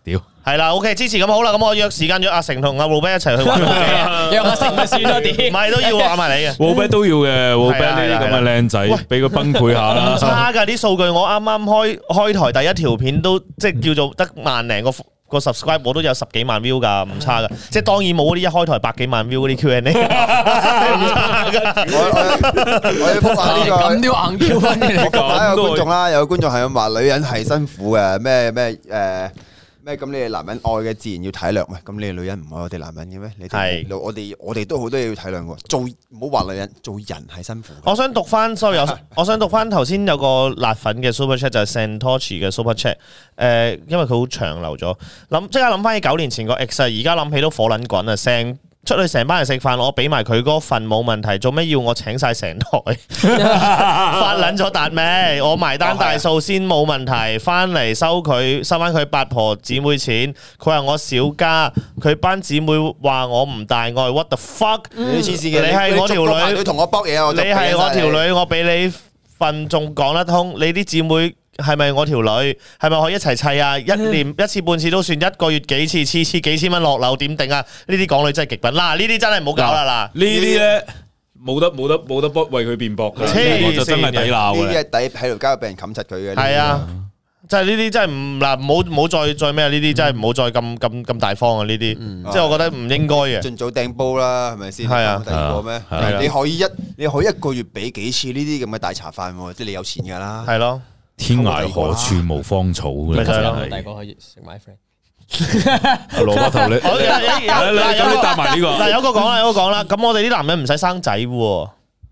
係啦，OK 支持咁好啦，咁我約時間約阿成同阿 Robert 一齊去玩部機， 約阿成咪算多啲， 唔係都要玩埋你嘅。 Robert 都要嘅，Robert 呢啲咁嘅靚仔，俾佢崩潰下啦。 差㗎啲數據，我啱啱開台第一條片都即係叫做得萬零個 subscribe， 我都有10幾萬 view 㗎，唔差㗎。即係當然冇嗰啲一開台100幾萬 view 嗰啲 Q&A， 唔差㗎。 我要覆下呢個咁都要硬 Q 翻嘅你我覆下講。 一個觀眾啦，有個觀眾係咁話女人係辛苦嘅，咩咁你哋男人愛嘅自然要體諒，喂咁你哋女人唔愛我哋男人嘅咩？你哋我哋都好多嘢要體諒喎，唔好話女人，做人係辛苦。 我想讀翻 ，sorry， 我想讀翻頭先有個辣粉嘅 super chat 就係 Santochi 嘅 super chat，因為佢好長留咗，即刻諗翻起9年前個 ex， 而家諗起都火撚滾啊！出去成班人食飯，我俾埋佢嗰份冇問題，做咩要我請晒成台？發撚咗達咩？我埋單大數先冇問題，翻嚟收翻佢八婆姊妹錢。佢話我小家，佢班姊妹話我唔大愛。What the fuck？ 你黐線嘅， 你係我條女， 你同我搏嘢啊！ 你係我條女，我俾你份仲講得通。你啲姊妹係咪我條女？係咪可以一齊砌啊？一年一次半次都算，一個月幾次，次次幾千蚊落樓點定啊？呢啲港女真係極品。嗱，呢啲真係唔好搞啦！嗱， 呢啲咧冇得為佢辯駁嘅，我就真係抵鬧嘅。 呢啲係抵喺條街俾人冚柒佢嘅。 係啊，即係呢啲真係唔嗱，唔好再咩啊？呢啲真係唔好再咁大方啊！呢啲即係我覺得唔應該嘅。 盡早掟煲啦，係咪先？ 係啊， 第二個咩？你可以一個月俾幾次呢啲咁嘅大茶飯喎？即係你有錢㗎啦。 係咯。 天涯何處無芳草嘅， 第二個可以食埋 friend。 羅伯頭你，咁你答埋呢個。 嗱，有個講啦，咁我哋啲男人唔使生仔喎。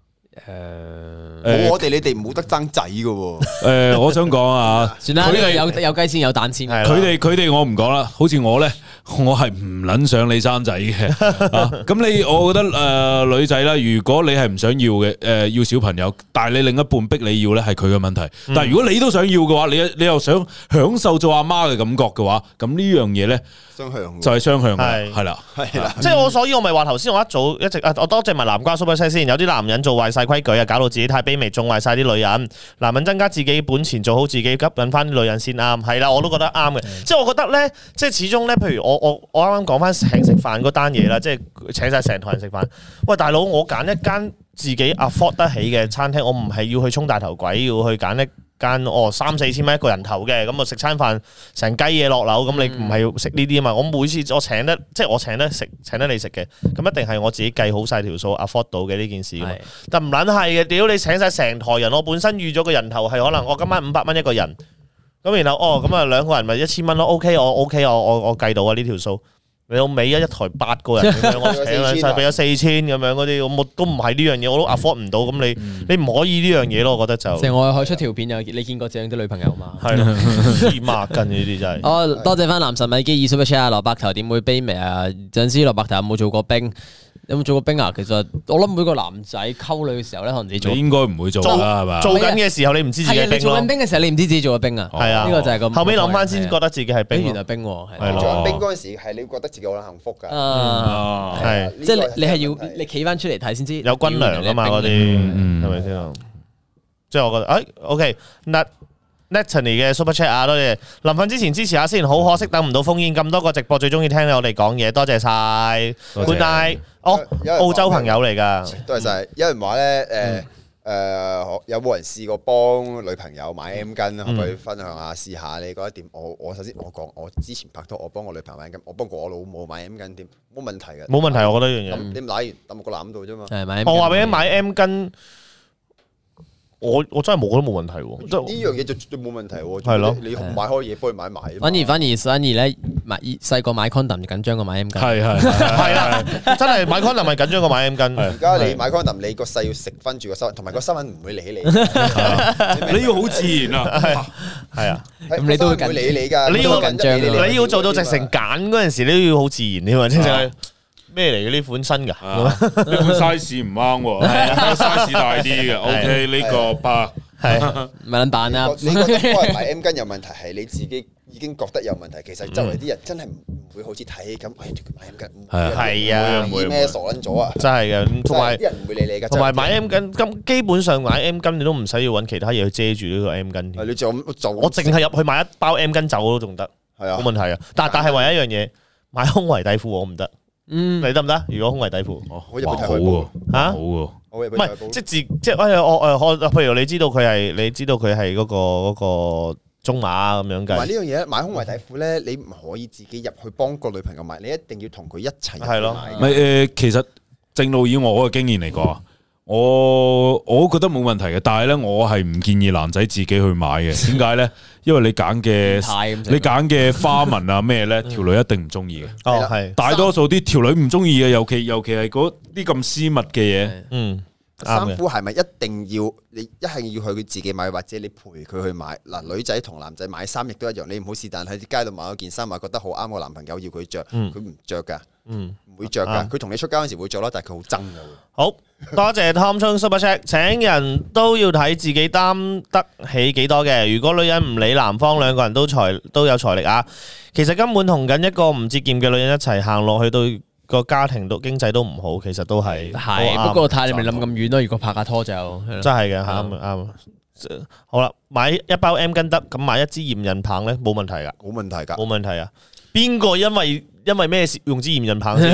我哋你哋冇得爭仔㗎喎。 我想講啊， 算啦，呢個有雞先有蛋先。 佢哋我唔講啦，好似我咧，我係唔撚想你生仔嘅。咁我覺得女仔啦，如果你係唔想要嘅，要小朋友，但係你另一半逼你要咧，係佢嘅問題。但係如果你都想要嘅話，你又想享受做阿媽嘅感覺嘅話，咁呢樣嘢咧， 雙向就係雙向嘅，係啦， 即係所以我咪話頭先，我一直我多謝埋南瓜 super 先。有啲男人做壞晒規矩啊，搞到自己太卑微，縱壞晒啲女人。男人增加自己本錢，做好自己，吸引翻啲女人先啱。係啦，我都覺得啱嘅。即係我覺得咧，即係始終咧，譬如我啱啱講翻請食飯嗰單嘢啦，即係請晒成台人食飯。喂，大佬，我揀一間自己 afford 得起嘅餐廳，我唔係要去衝大頭鬼，要去揀一間3-4千蚊一個人頭嘅，咁我食餐飯成雞嘢落樓，咁你唔係要食呢啲啊嘛？我每次我請得你食嘅，咁一定係我自己計好晒條數 afford 到嘅呢件事噶嘛。但唔撚係嘅，屌你請晒成台人，我本身預咗個人頭係可能我今晚500蚊一個人，咁然後咁啊2個人咪1000蚊咯。OK， 我計到啊呢條數。你老尾一台8個人咁樣，我請晒俾咗4000咁樣嗰啲，我都唔係呢樣嘢，我都 afford 唔到。咁你唔可以呢樣嘢咯，我覺得就。成我可以出條片，你見過這樣啲女朋友嘛？ 係咯，黐孖筋呢啲真係。 多謝翻男神米基super chat啊！蘿蔔頭點會卑微啊？陣時蘿蔔頭有冇做過兵？有冇做過兵啊？其實我諗每個男仔溝女嘅時候咧，可能自己做。 你應該唔會做啦，係嘛？ 做緊嘅時候你唔知自己係兵咯。 你做緊兵嘅時候，你唔知自己做咗兵啊？係啊，呢個就係咁。 後尾諗翻先覺得自己係兵， 原來兵喎。 係做緊兵嗰陣時係你覺得自己好幸福㗎。 係， 即係你係要你企翻出嚟睇先知。 有軍糧㗎嘛嗰啲，係咪先？即係我覺得，OK，Natalie 嘅 Super Chat 啊，多謝。臨瞓之前支持下先，好可惜等唔到烽煙，咁多個直播最中意聽我哋講嘢，多謝晒。Good night，澳洲朋友嚟㗎， 多謝晒。有人話咧，有冇人試過幫女朋友買 M 巾？可唔可以分享下試下？你覺得點？我首先我講，我之前拍拖，我幫我女朋友買 M 巾，我幫過我老母買 M 巾，點冇問題嘅。 冇問題，我覺得呢樣嘢。 你買完抌個籃度啫嘛。 我話俾你買 M 巾。我真係冇覺得冇問題喎， 呢樣嘢就冇問題喎。 係咯， 你買開嘢幫佢買埋。 反而咧，細個買 condom 緊張過買 M 巾。 係啊，真係買 condom 係緊張過買 M 巾。 而家你買 condom，你個細要食分住個收，同埋個收銀唔會理你。 你要好自然啊， 係啊， 咁你都會理你㗎。 你要做到直成揀嗰陣時，你都要好自然添啊，即係。咩嚟嘅呢款新㗎？ 呢款 size 唔啱喎，size 大啲嘅。OK，呢個八係咪撚扮啊？ 你覺得幫人買 M 巾有問題，係你自己已經覺得有問題。其實周圍啲人真係唔會好似睇咁，買 M 巾係啊， 咩傻撚咗啊？ 真係嘅，同埋啲人唔會理你㗎。 同埋買 M 巾咁，基本上買 M 巾你都唔使要揾其他嘢去遮住呢個 M 巾。 你就我淨係入去買一包 M 巾走都仲得。 係啊冇問題啊。但係唯一一樣嘢，買胸圍底褲我唔得。你得唔得？如果胸圍底褲， 我入去睇好喎， 嚇好喎。 我入去唔係即係我譬如你知道佢係嗰個中碼咁樣同埋呢計， 樣嘢買胸圍底褲咧，你唔可以自己入去幫個女朋友買，你一定要同佢一齊入去係咯買。 其實正路以我嘅經驗嚟講，我覺得冇問題嘅，但係咧我係唔建議男仔自己去買嘅。點解咧？因為你揀嘅花紋啊咩咧，條女一定唔中意嘅。 哦係， 大多數啲條女唔中意嘅，尤其係嗰啲咁私密嘅嘢。 衫褲係咪一定要你一係要去佢自己買，或者你陪佢去買？嗱，女仔同男仔買衫亦都一樣，你唔好是但喺街度買咗件衫，話覺得好啱我男朋友要佢着，佢唔着噶，唔會着噶。佢同你出街嗰時會着咯，但係佢好憎噶。 好多謝 Tom Chung Super Chat， 請人都要睇自己擔得起幾多嘅。如果女人唔理男方，兩個人都有財力啊，其實根本同緊一個唔節儉嘅女人一齊行落去到。個家庭都經濟都唔好，其實都係， 不過睇你咪諗咁遠咯。如果拍下拖就真係嘅，啱。好啦，買一包 M 巾得，咁買一支驗孕棒咧冇問題噶，冇問題啊！邊個因為咩事用支驗孕棒先？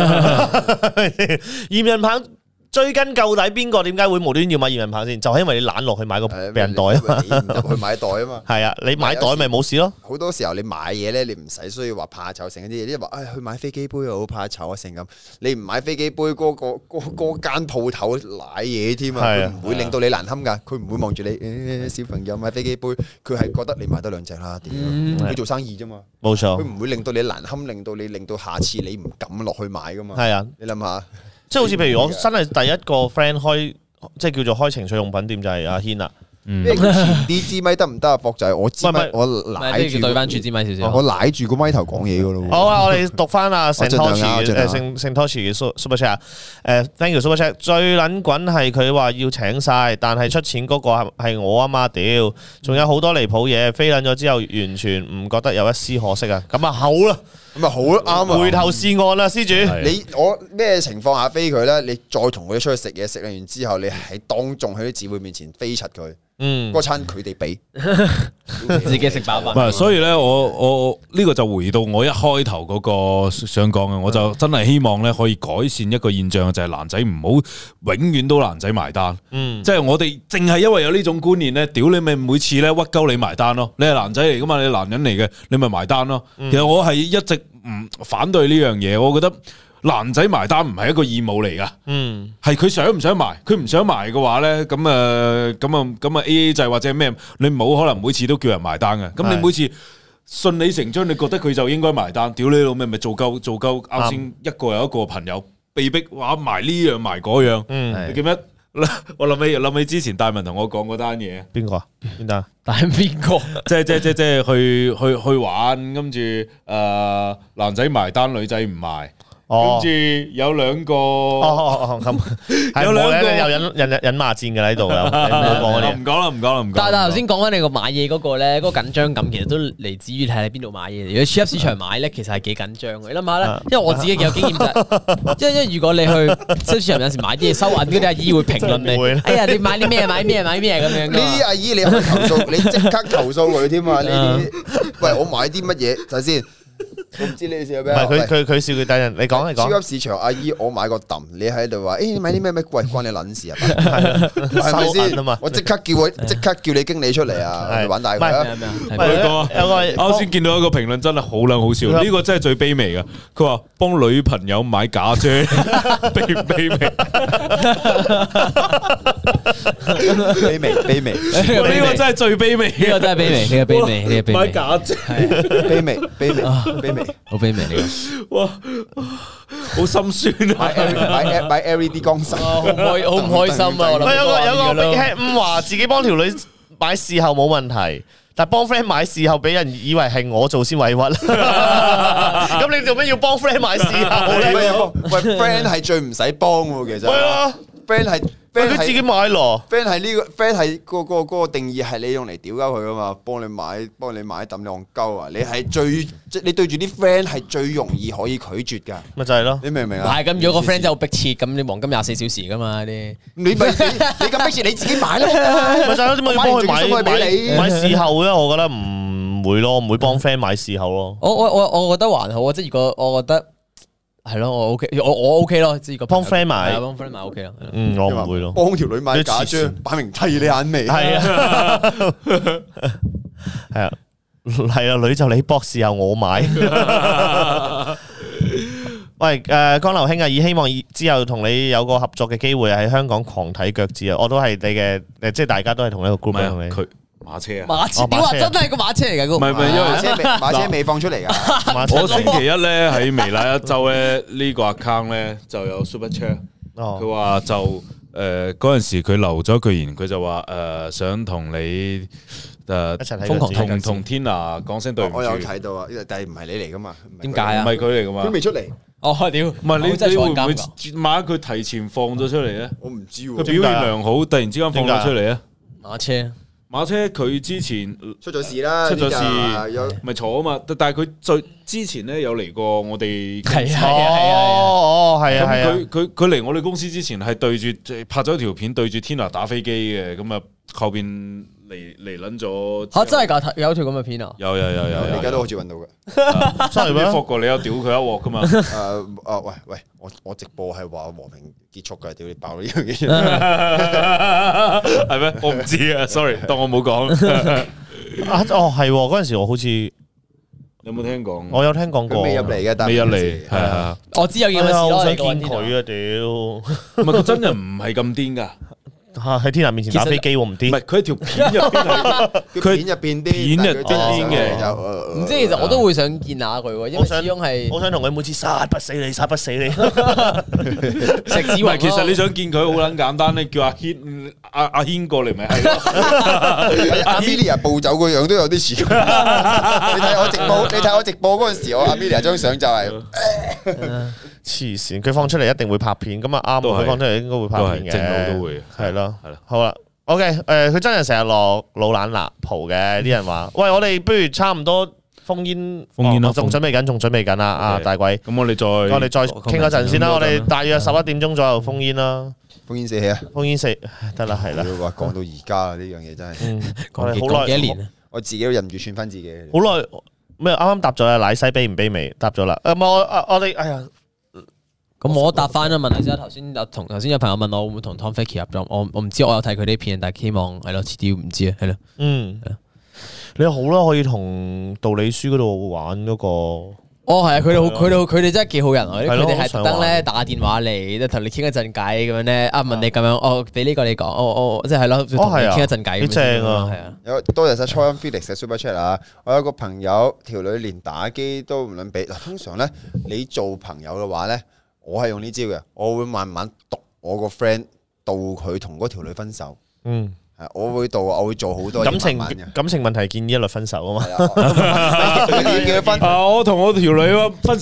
驗孕棒追根究底，邊個點解會無端要買驗孕棒先？就係因為你懶落去買個避孕袋啊嘛， 你唔入去買袋啊嘛。係啊，你買袋咪冇事咯。好多時候你買嘢咧，你唔使需要話怕醜成嗰啲嘢，即係話去買飛機杯又好怕醜啊成咁。你唔買飛機杯，嗰間鋪頭攋嘢添啊，佢唔會令到你難堪㗎。佢唔會望住你，小朋友買飛機杯，佢係覺得你買得兩隻啦。佢做生意啫嘛， 冇錯。 佢唔會令到你難堪，令到下次你唔敢落去買㗎嘛。 係啊， 你諗下。 即係好似譬如我真係第一個 friend 開，即係叫做開情趣用品店就係阿軒啦。 前啲支咪得唔得啊？博仔，我支咪我舐住對翻住支咪少少， 我舐住個咪頭講嘢噶咯。 好啊，我哋讀翻阿聖 Toshi 聖 Toshi 嘅 Super Chat。Thank you Super Chat。最撚滾係佢話要請晒，但係出錢嗰個係我啊嘛屌！仲有好多離譜嘢，飛撚咗之後完全唔覺得有一絲可惜啊！咁啊好啦。 咁啊好啱啊！ 回頭是岸啦，施主。 我咩情況下飛佢咧？你再同佢出去食嘢，食完之後，你喺當眾喺啲姊妹面前飛柒佢。嗰餐佢哋俾， 自己食飽飯。 唔係，所以咧，我呢個就回到我一開頭嗰個想講嘅，我就真係希望咧可以改善一個現象，就係男仔唔好永遠都男仔埋單。即係我哋淨係因為有呢種觀念咧，屌你咪每次咧屈鳩你埋單咯。你係男仔嚟噶嘛，你係男人嚟嘅，你咪埋單咯。其實我係一直唔反對呢樣嘢，我覺得。男仔埋單唔係一個義務嚟噶，係佢想唔想埋，佢唔想埋嘅話咧，咁啊 AA 制或者咩，你冇可能每次都叫人埋單嘅，咁你每次順理成章，你覺得佢就應該埋單，屌你老味咪做夠啱先一個又一個朋友被逼話埋呢樣埋嗰樣，你記唔記得？我諗起之前大文同我講嗰單嘢， 邊個啊？邊單？ 但係邊個？ 即係去玩，跟住男仔埋單，女仔唔埋。跟住有兩個， 有兩個又引罵戰嘅喺度啦。 唔講啦。 但係頭先講緊你個買嘢嗰個咧，嗰個緊張感其實都嚟自於睇你邊度買嘢。如果超級市場買咧，其實係幾緊張嘅。你諗下咧，因為我自己幾有經驗就係，因為如果你去超級市場有時買啲嘢收銀嗰啲阿姨會評論你，哎呀你買啲咩咁樣。 呢啲阿姨你可以投訴，你即刻投訴佢添嘛？呢啲，喂我買啲乜嘢？睇先。我唔知你笑咩？ 佢笑佢等人，你講。 超級市場阿姨，我買個揼，你喺度話，你買啲咩？喂，關你撚事啊？係咪先？我即刻叫你經理出嚟啊！玩大佢啊！ 有個啱先見到一個評論真係好撚好笑，呢個真係最卑微噶。佢話幫女朋友買假啫，卑微。 卑微， 呢個真係最卑微， 呢個真係卑微， 買假啫， 卑微， 好卑微呢個， 哇，好心酸啊！ 買 LED 光芯， 好唔開心啊！ 有個 Big Head 話自己幫條女買事後冇問題，但係幫 friend 買事後俾人以為係我做先委屈。咁你做咩要幫 friend 買事後咧？ 喂 ，friend 係最唔使幫喎，其實。係啊 ，friend 係。 佢自己買咯 ，friend 係呢個 friend 係嗰個定義係你用嚟屌鳩佢噶嘛，幫你買抌你戇鳩啊！你係你對住啲 friend 係最容易可以拒絕噶， 咪就係咯， 你明唔明啊？ 係咁，如果個 friend 真係好迫切，咁你黃金24小時噶嘛啲， 你咁迫切你自己買咯， 咪就係咯，點解要幫佢買事後咧？我覺得唔唔會咯，唔會幫 friend 買事後咯。 我覺得還好啊，即係如果我覺得係咯，我 OK，我 OK 咯，即係幫 friend 買， 幫 friend 買 OK 咯。 我唔會咯。 幫條女買假張，擺明剃你眼眉。 係啊，係啊，係啊，女就你博事後我買。喂，江流兄啊，以希望之後同你有個合作嘅機會喺香港狂睇腳趾啊！我都係你嘅，即係大家都係同一個 group 同你。 佢馬車啊， 馬車，你話真係個馬車嚟㗎？ 唔係，因為馬車未放出嚟㗎。 我星期一咧喺微辣一周咧呢個 account 咧就有 super chat，佢話就嗰陣時佢留咗句言，佢就話想同你瘋狂同 Tina 講聲對唔住。 我有睇到啊，但係唔係你嚟㗎嘛？ 點解啊？ 唔係佢嚟㗎嘛？ 佢未出嚟。 哦，屌！ 唔係你會唔會萬一佢提前放咗出嚟咧？ 我唔知喎。 佢表現良好，突然之間放咗出嚟咧？馬車佢之前出咗事啦， 出咗事咪坐啊嘛，但係佢最之前咧有嚟過我哋公司， 係啊， 佢嚟我哋公司之前係對住拍咗條片對住 Tina 打飛機嘅，咁啊後邊嚟撚咗嚇真係㗎，有條咁嘅片啊！ 有， 你而家都好似揾到嘅， 真係咩？霍過你有屌佢一鑊㗎嘛？ 喂，我直播係話和平結束㗎，屌你爆呢樣嘢， 係咩？我唔知啊，sorry，當我冇講。 係嗰陣時我好似有冇聽講？ 我有聽講過， 未入嚟嘅，但未入嚟，係啊， 我知有件事咯， 我想見佢啊！屌， 唔係佢真人唔係咁癲㗎。 喺天娜面前打飛機喎，唔癲。 唔係佢喺條片入邊， 佢片入邊嘅。 唔知其實我都會想見下佢喎，因為始終係我想同佢每次殺不死你，殺不死你。 食指環。 其實你想見佢好撚簡單咧，叫阿軒阿軒過嚟咪係咯。 阿 Amelia 步走個樣都有啲似。你睇我直播嗰陣時，我阿 Amelia 張相就係。 黐線，佢放出嚟一定會拍片，咁啊啱，佢放出嚟應該會拍片嘅， 正路都會， 係咯，好啦 ，OK，佢真係成日落老懶辣蒲嘅，啲人話，喂，我哋不如差唔多封煙咯，仲準備緊啦，啊大鬼， 咁我哋再傾一陣先啦，我哋大約11點鐘左右封煙啦， 封煙4啊， 封煙4得啦，係啦， 話講到而家啊，呢樣嘢真係， 講好耐幾年， 我自己都忍唔住串翻自己， 好耐咩？啱啱答咗啦，奶西卑唔卑微？答咗啦，我哋哎呀。 咁我答翻啦，問題先。頭先有朋友問我會唔會同 Tom Fakie 合作，我唔知，我有睇佢啲片，但係希望係咯，遲啲唔知啊，係咯。 你好啦，可以同道理書嗰度玩嗰個。 哦，係啊，佢哋真係幾好人啊！佢哋係特登咧打電話嚟，同你傾一陣偈咁樣咧，問你咁樣，哦，俾呢個你講，即係咯，同你傾一陣偈。 幾正啊！ 係啊， 多謝晒初音 Felix 嘅 Super Chat 啊！我有個朋友條女連打機都唔撚俾。嗱，通常咧你做朋友嘅話咧。我係用呢招嘅，我會慢慢讀我個 friend 導佢同嗰條女分手。我會導，我會做好多感情問題建議一律分手啊嘛。 點叫佢分？ 我同我條女分手。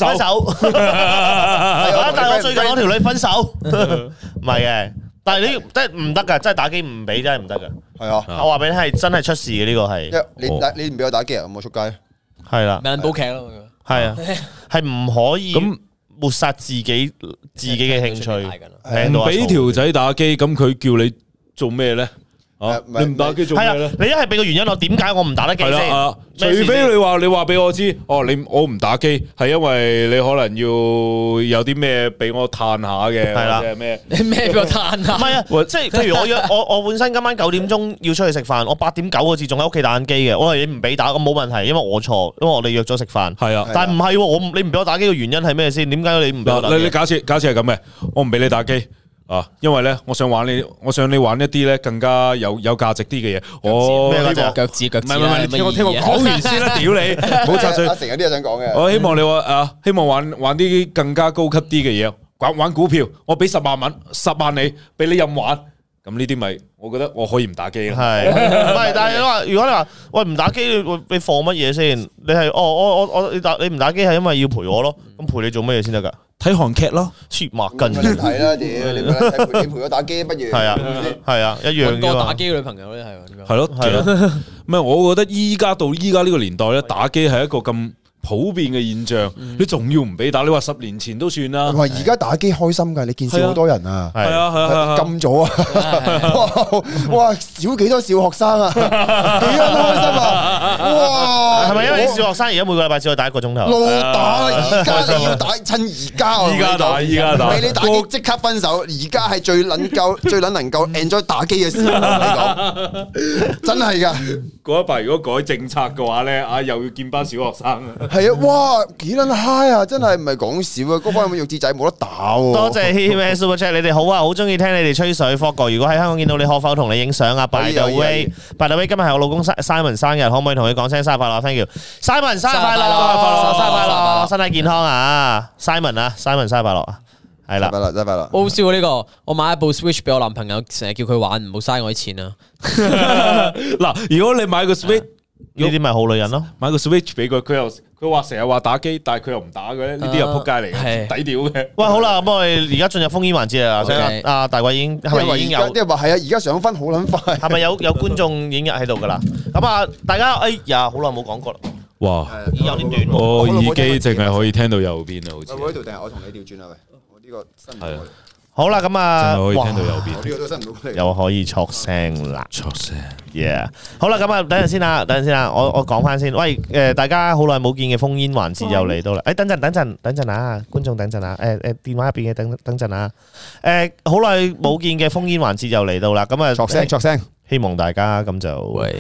但係我最近我條女分手，唔係嘅。但係你真係唔得㗎，真係打機唔俾，真係唔得㗎。係啊，我話俾你係真係出事嘅呢個係。你唔俾我打機啊？咁我出街。係啦。 咪煲劇咯。 係啊，係唔可以咁。抹殺自己嘅興趣， 唔俾條仔打機，咁佢叫你做咩咧？你唔打機做咩咧？ 你一係俾個原因我，點解我唔打得機先？ 除非你話俾我知，我唔打機係因為你可能要有啲咩俾我嘆下嘅，係啦，咩俾我嘆下？唔係啊，即係譬如我本身今晚9點鐘要出去食飯，我8點9個字仲喺屋企打緊機嘅，我話你唔俾打，咁冇問題，因為我錯，因為我哋約咗食飯。係啊，但係唔係，你唔俾我打機嘅原因係咩先？點解你唔俾我打機？ 你假設係咁嘅，我唔俾你打機。因為咧，我想你玩一啲咧更加有價值啲嘅嘢。 咩腳趾？唔係， 你聽我講完先啦，屌你！冇插嘴。 阿成有啲嘢想講嘅。 我希望你話希望玩啲更加高級啲嘅嘢，玩股票，我俾10萬你，俾你任玩。咁呢啲咪，我覺得我可以唔打機啦。 係，唔係？但係如果你話喂唔打機，你放乜嘢先？你係你唔打機係因為要陪我咯？咁陪你做乜嘢先得㗎？ 睇韓劇咯， 黐孖筋。 睇啦，屌你陪我打機不如？ 係啊，一樣多打機嘅女朋友咧係。 係咯，唔係我覺得依家到依家呢個年代咧，打機係一個咁普遍嘅現象，你仲要唔俾打？你話10年前都算啦。 話而家打機開心㗎，你見少好多人啊。 係啊， 禁咗啊！哇，少幾多小學生啊？幾多開心啊！哇， 係咪因為小學生而家每個禮拜只可以打1個鐘頭？ 老打，而家你要打，趁而家啊！ 依家打， 俾你打機即刻分手。而家係最能夠 enjoy 打機嘅時候，你講真係㗎。 嗰一排如果改政策嘅話咧，又要見班小學生啊！ 係啊，哇，幾撚 high 啊！真係唔係講笑啊！嗰班弱智仔冇得打喎。 多謝 He Super Chat， 你哋好啊，好中意聽你哋吹水。霍哥，如果喺香港見到你，可否同你影相啊 ？By the way，By the way， 今日係我老公 Simon 生日，可唔可以同佢講聲生日快樂 ？Thank you，Simon 生日快樂，生日快樂，身體健康啊！Simon 啊，Simon 生日快樂啊！係啦， 真係快樂。 好笑呢個，我買一部 Switch 俾我男朋友，成日叫佢玩，唔好嘥我啲錢啊！ 嗱，如果你買個 Switch， 呢啲咪好女人咯， 買個 Switch 俾佢，佢話成日話打機，但係佢又唔打嘅咧，呢啲又撲街嚟嘅，抵屌嘅。喂， 好啦，咁我哋而家進入烽煙環節啦。阿大衛已經係咪已經有？ 啲人話係啊，而家上分好撚快。 係咪有觀眾已經喺度噶啦？咁啊，大家哎呀，好耐冇講過啦。 哇， 已經有啲短。 我耳機淨係可以聽到右邊啊，好似。 我呢度定係我同你調轉啊？喂，我呢個新唔好啦，咁啊， 可以聽到右邊， 呢個都新唔到， 又可以錯聲啦， 錯聲 ，yeah。好啦，咁啊，等陣先啦，我講翻先。喂，大家好耐冇見嘅烽煙環節又嚟到啦。等陣啊，觀眾等陣啊，電話入邊嘅等陣啊。好耐冇見嘅烽煙環節又嚟到啦。咁啊， 錯聲。 希望大家咁就喂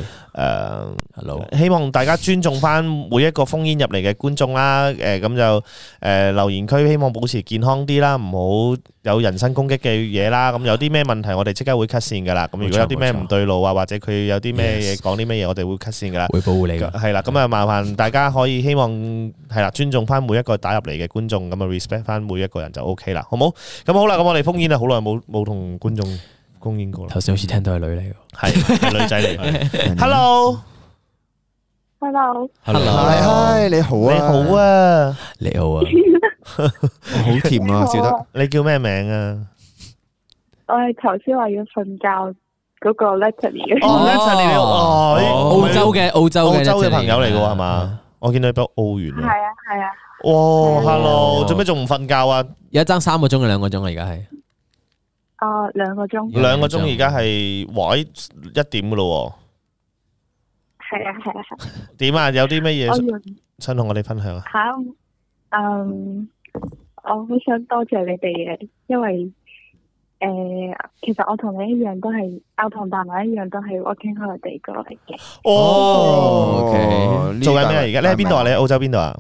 ，hello， 希望大家尊重翻每一個烽煙入嚟嘅觀眾啦。咁就留言區希望保持健康啲啦，唔好有人身攻擊嘅嘢啦。咁有啲咩問題，我哋即刻會 cut 線噶啦。咁如果有啲咩唔對路啊，或者佢有啲咩嘢講啲咩嘢，我哋會 cut 線噶啦。 會保護你噶。 係啦，咁啊麻煩大家可以希望係啦，尊重翻每一個打入嚟嘅觀眾，咁啊 respect 翻每一個人就 OK 啦，好冇？咁好啦，咁我哋烽煙啊，好耐冇同觀眾公演過啦。 頭先好似聽到係女嚟嘅， 係女仔嚟。Hello， 嗨，你好啊， 你好啊， 好甜啊，笑得。 你叫咩名啊？ 我係頭先話要瞓覺嗰個 Natalie 澳洲嘅朋友嚟嘅係嘛？我見到你俾澳元。 係啊。 哇 ，Hello，做咩仲唔瞓覺啊？ 而家爭3個鐘定2個鐘啊？而家係。 2個鐘。 2個鐘而家係1點噶咯。 係啊。 點啊？有啲乜嘢想同我哋分享啊？ 我好想多謝你哋嘅，因為其實我同你一樣都係，我同大文一樣都係 working holiday 過嚟嘅。 OK， 做緊咩啊？而家你喺邊度啊？你喺澳洲邊度啊？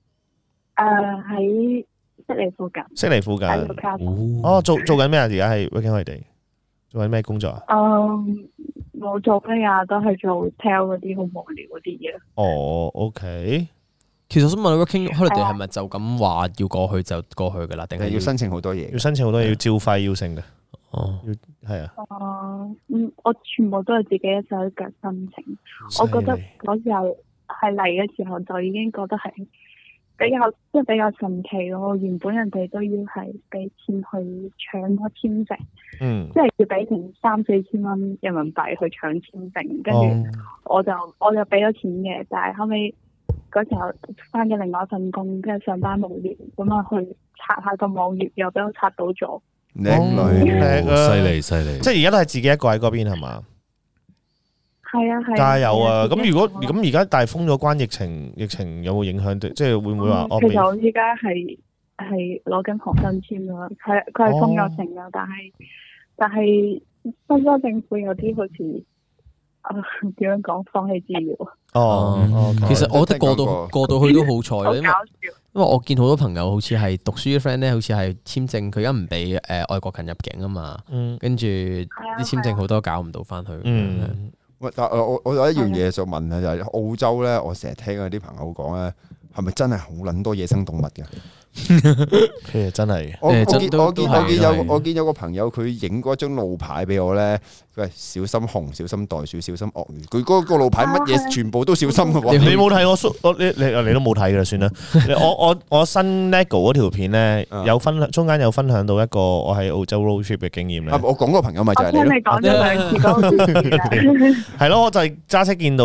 喺悉尼附近。 悉尼附近。做緊咩啊？而家係 working holiday，做緊咩工作啊？ 冇做咩啊，都係做 hotel 嗰啲好無聊嗰啲嘢。 OK。 其實我想問 working holiday 係咪就咁話要過去就過去噶啦？定係要申請好多嘢？ 要申請好多嘢，要照費要成嘅。係啊。 我全部都係自己一手腳申請。我覺得嗰時候係嚟嘅時候就已經覺得係比較神奇咯。原本人哋都要係俾錢去搶個簽證，即係要俾成3-4千蚊人民幣去搶簽證，跟住我就俾咗錢嘅，但係後尾嗰時候翻咗另外一份工，跟住上班無聊咁啊去刷下個網頁，又俾我刷到咗。 叻女， 犀利！ 即係而家都係自己一個喺嗰邊係嘛？ 係啊， 加油啊！咁而家大封咗關，疫情有冇影響？即係會唔會話？ 其實我依家係攞緊學生簽咯，佢係封咗城噶，但係新州政府有啲好似點樣講放棄治療。 其實我覺得過到去都好彩啦，因為我見好多朋友好似係讀書嘅 friend 咧，好似係簽證佢而家唔俾外國人入境啊嘛，跟住啲簽證好多搞唔到翻去。 但我有一樣嘢想問啊，就係澳洲咧，我成日聽嗰啲朋友講咧，係咪真係好撚多野生動物嘅？ 其實真係， 我見有個朋友佢影嗰張路牌俾我咧，佢係小心熊、小心袋鼠、小心鱷魚。佢嗰個路牌乜嘢全部都小心嘅喎。 你冇睇你都冇睇嘅啦，算啦。我新 Lego 嗰條片咧，中間有分享到一個我喺澳洲 road trip 嘅經驗咧。 我講個朋友咪就係你咯。 我聽你講咗2次嗰個故事。 係咯，我就係揸車見到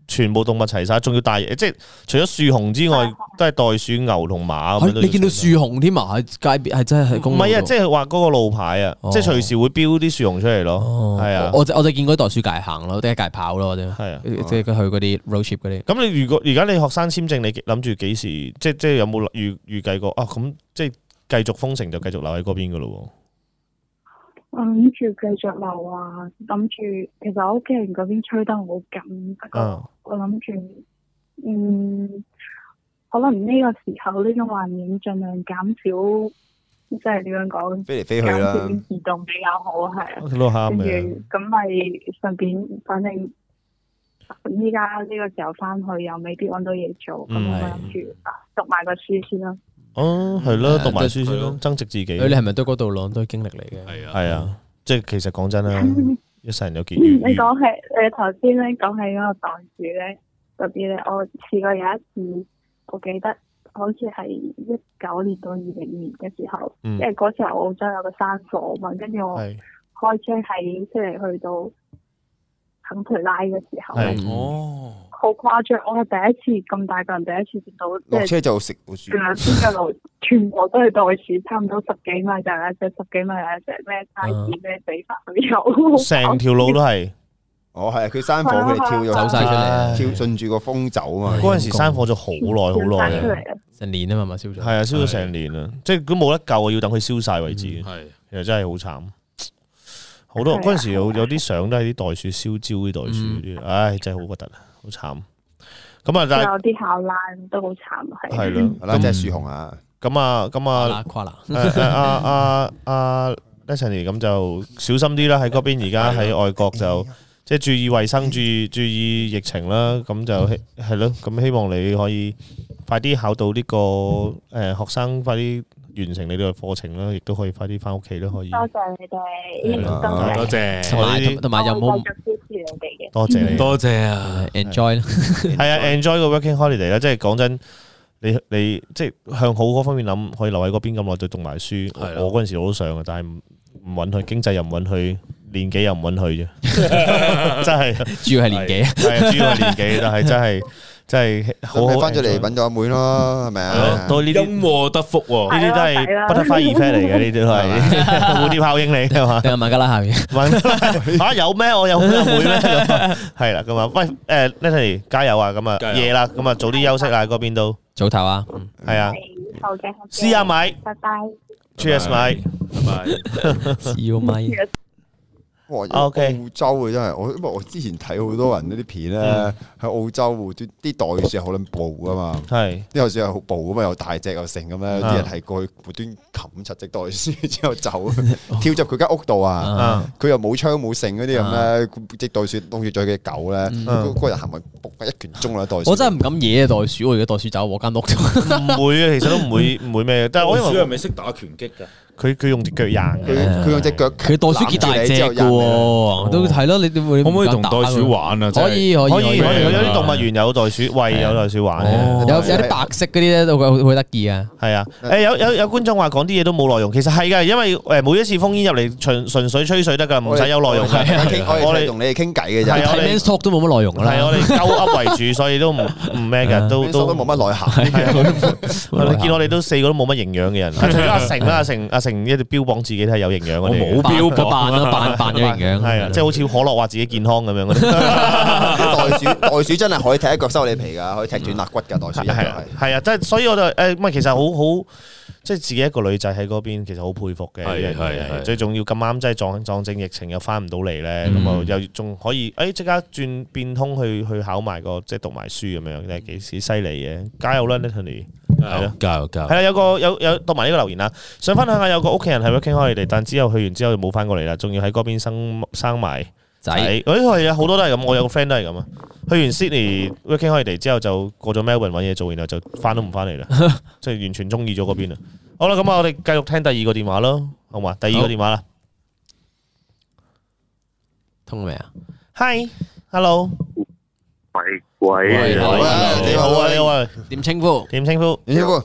全部動物齊晒，仲要大，即係除咗樹熊之外，都係袋鼠、牛同馬咁樣。 你見到樹熊添啊？喺街邊係真係喺公路。 唔係啊，即係話嗰個路牌啊，即係隨時會標啲樹熊出嚟咯。係啊， 我就見嗰啲袋鼠界行咯，啲界跑咯， 係啊， 即係去嗰啲 road trip 嗰啲。 咁你如果而家你學生簽證，你諗住幾時？即係有冇預計過啊？咁即係繼續封城就繼續留喺嗰邊噶咯？ 我諗住繼續留啊，諗住其實我屋企人嗰邊催得好緊，不過我諗住，可能呢個時候呢種環境盡量減少，即係點樣講， 飛嚟飛去啦， 減少移動比較好，係啊。 都啱跟住嘅。 咁咪順便，反正依家呢個時候翻去又未必揾到嘢做，咁我諗住讀埋個書先啦。 哦，係咯，讀埋書先咯，增值自己。 你係咪都嗰度攞都係經歷嚟嘅？ 係啊，即係其實講真啦，一世人有結緣。 你講起你頭先咧講起嗰個袋鼠咧嗰啲咧，我試過有一次，我記得好似係19年到20年嘅時候，因為嗰時候澳洲有個山火嘛，跟住我開車喺悉尼去到肯培拉嘅時候，好誇張！我係第一次咁大個人第一次見到， 落車就食老鼠， 兩邊嘅路全部都係袋鼠，差唔多10幾米就有一隻，10幾米有一隻，咩 size 咩比法都有， 成條路都係。 哦，係佢山火，佢哋跳咗走晒出嚟， 跳順住個風走啊嘛。 嗰陣時山火咗好耐好耐啊， 成年啊嘛，燒咗。 係啊，燒咗成年啊，即係都冇得救啊，要等佢燒晒為止。 係， 其實真係好慘。好多嗰陣時有啲相都係啲袋鼠燒焦啲袋鼠啲，唉，真係好核突啊，好慘。咁啊，但係有啲考爛都好慘， 係咯， 嗱，即係樹熊啊。 咁啊， 跨啦， 阿 Natalie 咁就小心啲啦，喺嗰邊而家喺外國就即係注意衞生，注意疫情啦。咁就係咯，咁希望你可以快啲考到呢個學生，快啲完成你呢個課程啦，亦都可以快啲翻屋企都可以。 多謝你哋， 多謝， 同埋有冇繼續支持你哋嘅？ 多謝你， 多謝啊 enjoy 啦？ 係啊，enjoy 個 working holiday 啦，即係講真。你即係向好嗰方面諗，可以留喺嗰邊咁耐，就讀埋書。我嗰陣時我都想嘅，但係唔允許，經濟又唔允許，年紀又唔允許啫。真係主要係年紀， 係主要係年紀，但係真係好好翻咗嚟揾咗阿妹咯，係咪啊？ 都呢啲因禍得福喎， 呢啲都係 butterfly effect 嚟嘅，呢啲都係蝴蝶效應嚟係嘛？ 定係孟加拉下面？ 嚇有咩？我有阿妹咩？係啦，咁啊，喂Natalie 加油啊！咁啊夜啦，咁啊早啲休息啦，嗰邊都。 早唞啊， 係啊， 好嘅， 試下買， 拜拜 Cheers 買， 拜拜。 試個咪。 哇！ OK 澳洲啊，真係因為我之前睇好多人嗰啲片咧，喺澳洲啲袋鼠係好撚暴噶嘛， 係啲袋鼠係好暴噶嘛，又大隻又成咁咧，啲人係過去無端冚柒隻袋鼠之後走，跳入佢間屋度啊，佢又冇槍冇剩嗰啲咁咧，隻袋鼠當住咗嘅狗咧，嗰個人行埋仆一拳中啦袋鼠。 我真係唔敢惹袋鼠，我如果袋鼠走我間屋度， 唔會啊，其實都唔會咩嘅。但係我因為袋鼠係咪識打拳擊㗎？ 佢用隻腳硬嘅， 佢用隻腳， 佢袋鼠幾大隻嘅喎，都係咯，你點會可唔可以同袋鼠玩啊？ 可以， 有啲動物園有袋鼠，喂有袋鼠玩嘅， 有啲白色嗰啲咧都好得意啊。 係啊，有觀眾話講啲嘢都冇內容，其實係㗎，因為每一次烽煙入嚟純粹吹水得㗎，唔使有內容嘅。 我哋同你哋傾偈嘅啫， 係我哋 talk 都冇乜內容㗎啦。 係我哋鳩噏為主，所以都唔咩嘅，都冇乜內涵。 你見我哋都4個都冇乜營養嘅人，除咗阿成一直標榜自己都係有營養嗰啲， 冇標扮咗營養， 係啊，即係好似可樂話自己健康咁樣嗰啲。 袋鼠真係可以踢一腳收你皮㗎，可以踢斷肋骨㗎。袋鼠係啊，即係所以我就其實好即係自己一個女仔喺嗰邊，其實好佩服嘅。係最重要咁啱，即係撞正疫情又翻唔到嚟咧，咁啊又仲可以即刻轉變通去考埋個即係讀埋書咁樣，真係幾犀利嘅。加油啦 Natalie！係咯， 加油！ 係啦，有讀埋呢個留言啦，想分享下有個屋企人係 working holiday，但之後去完之後就冇翻過嚟啦，仲要喺嗰邊生埋仔。係啊，好多都係咁，我有個 friend 都係咁啊。去完 Sydney working holiday 之後就過咗 Melbourne 揾嘢做，然後就翻都唔翻嚟啦，即係完全中意咗嗰邊啊。好啦，咁我哋繼續聽第二個電話咯，好嘛？第二個電話啦， 通未啊 ？Hi，hello。 喂， 你好啊， 點稱呼？ 點稱呼？ 其實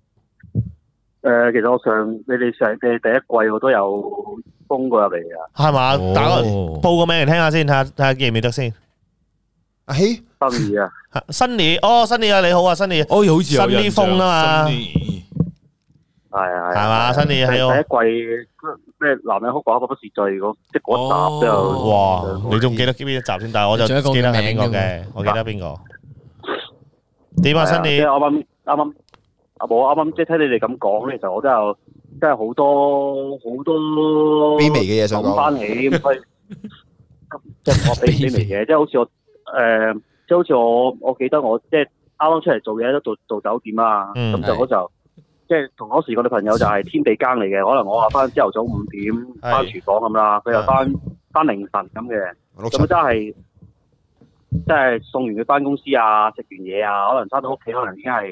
其實你哋上第一季我都有封過入嚟㗎， 係嘛？報個名嚟聽下先，睇下記唔記得先。 阿希新年啊， 新年新年啊，你好啊，新年， 好似有新啲風啊嘛， 係嘛，新年係第一季咩男人哭寡婦不是罪嗰即嗰一集都有。 哇，你仲記得邊一集先？但係我就記得係邊個嘅，我記得邊個。點啊，新年？ 即係啱啱即係聽你哋咁講，其實我真係好多卑微嘅嘢想講翻起咁，所以即係我卑微嘅，即係好似我即係好似我記得我即係啱啱出嚟做嘢都做酒店啊，咁就嗰時候即係同嗰時我哋朋友就係天地更嚟嘅，可能我話翻朝頭早5點翻廚房咁啦，佢又翻凌晨咁嘅，咁真係即係送完佢翻公司啊，食完嘢啊，可能翻到屋企可能已經係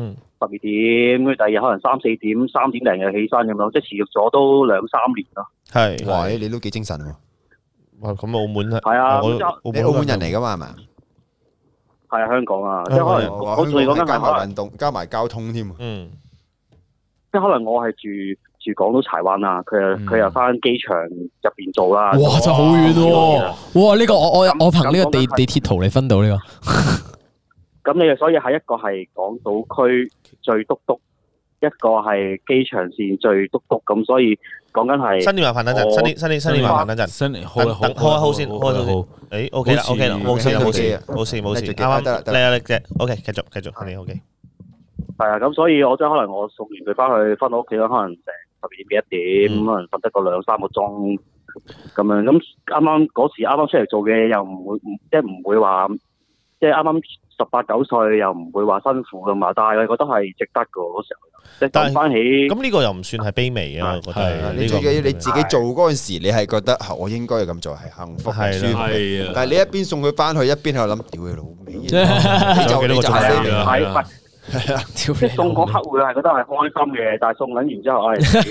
12點，跟住第二日可能3、4點3點零又起身咁咯，即係持續咗都2、3年咯。 係， 哇！你都幾精神喎。 哇！咁澳門係啊， 你澳門人嚟噶嘛係嘛？ 係啊，香港啊，即係可能我仲講緊加埋運動，加埋交通添。 即係可能我係住港島柴灣啊，佢又翻機場入邊做啦。 哇！真係好遠喎！哇！呢個我憑呢個地鐵圖嚟分到呢個。 咁你所以係一個係港島區最篤篤，一個係機場線最篤篤，咁所以講緊係新年麻煩等陣，新年麻煩等陣， 新年開先，開到先。誒，OK 啦，OK 啦，冇事，啱啱得啦，嚟嘅，OK，繼續，你 OK。 係啊，咁所以我真係可能我送完佢翻到屋企可能成12點幾1點，可能瞓得個2、3個鐘咁樣。咁嗰時啱啱出嚟做嘅又唔會話，即係啱啱18、19歲又唔會話辛苦噶嘛。但係我覺得係值得噶嗰時候，即係諗翻起。咁呢個又唔算係卑微啊，我覺得。 你最緊要你自己做嗰陣時，你係覺得我應該要咁做係幸福係舒服嘅。但係你一邊送佢翻去，一邊喺度諗，屌你老味，你就係。係啊， 即係送嗰刻會係覺得係開心嘅，但係送緊完之後，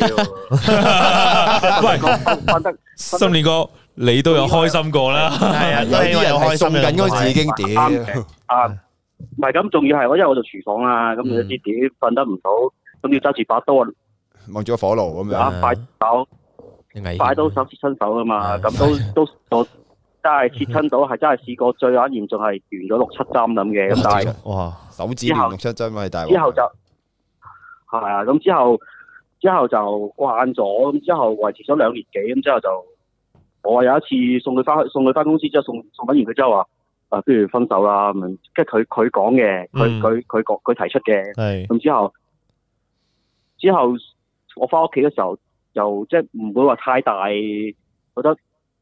喂，翻得新年哥，你都有開心過啦， 係啊， 有啲人係送緊嗰陣時已經屌， 唔係咁，仲要係因為我做廚房啦，咁有啲點瞓得唔到，咁要揸住把刀望住個火爐咁樣， 快刀手切親手噶嘛，咁都真係切親到，係真係試過最嚴重係斷咗6、7針咁嘅，咁但係哇手指斷6、7針咪大鑊。 之後就係啊，咁之後就慣咗，咁之後維持咗2年幾，咁之後就我有一次送佢翻公司之後，送緊完佢之後話不如分手啦咁樣，即係佢講嘅，佢提出嘅，咁之後我翻屋企嘅時候又即係唔會話太大覺得。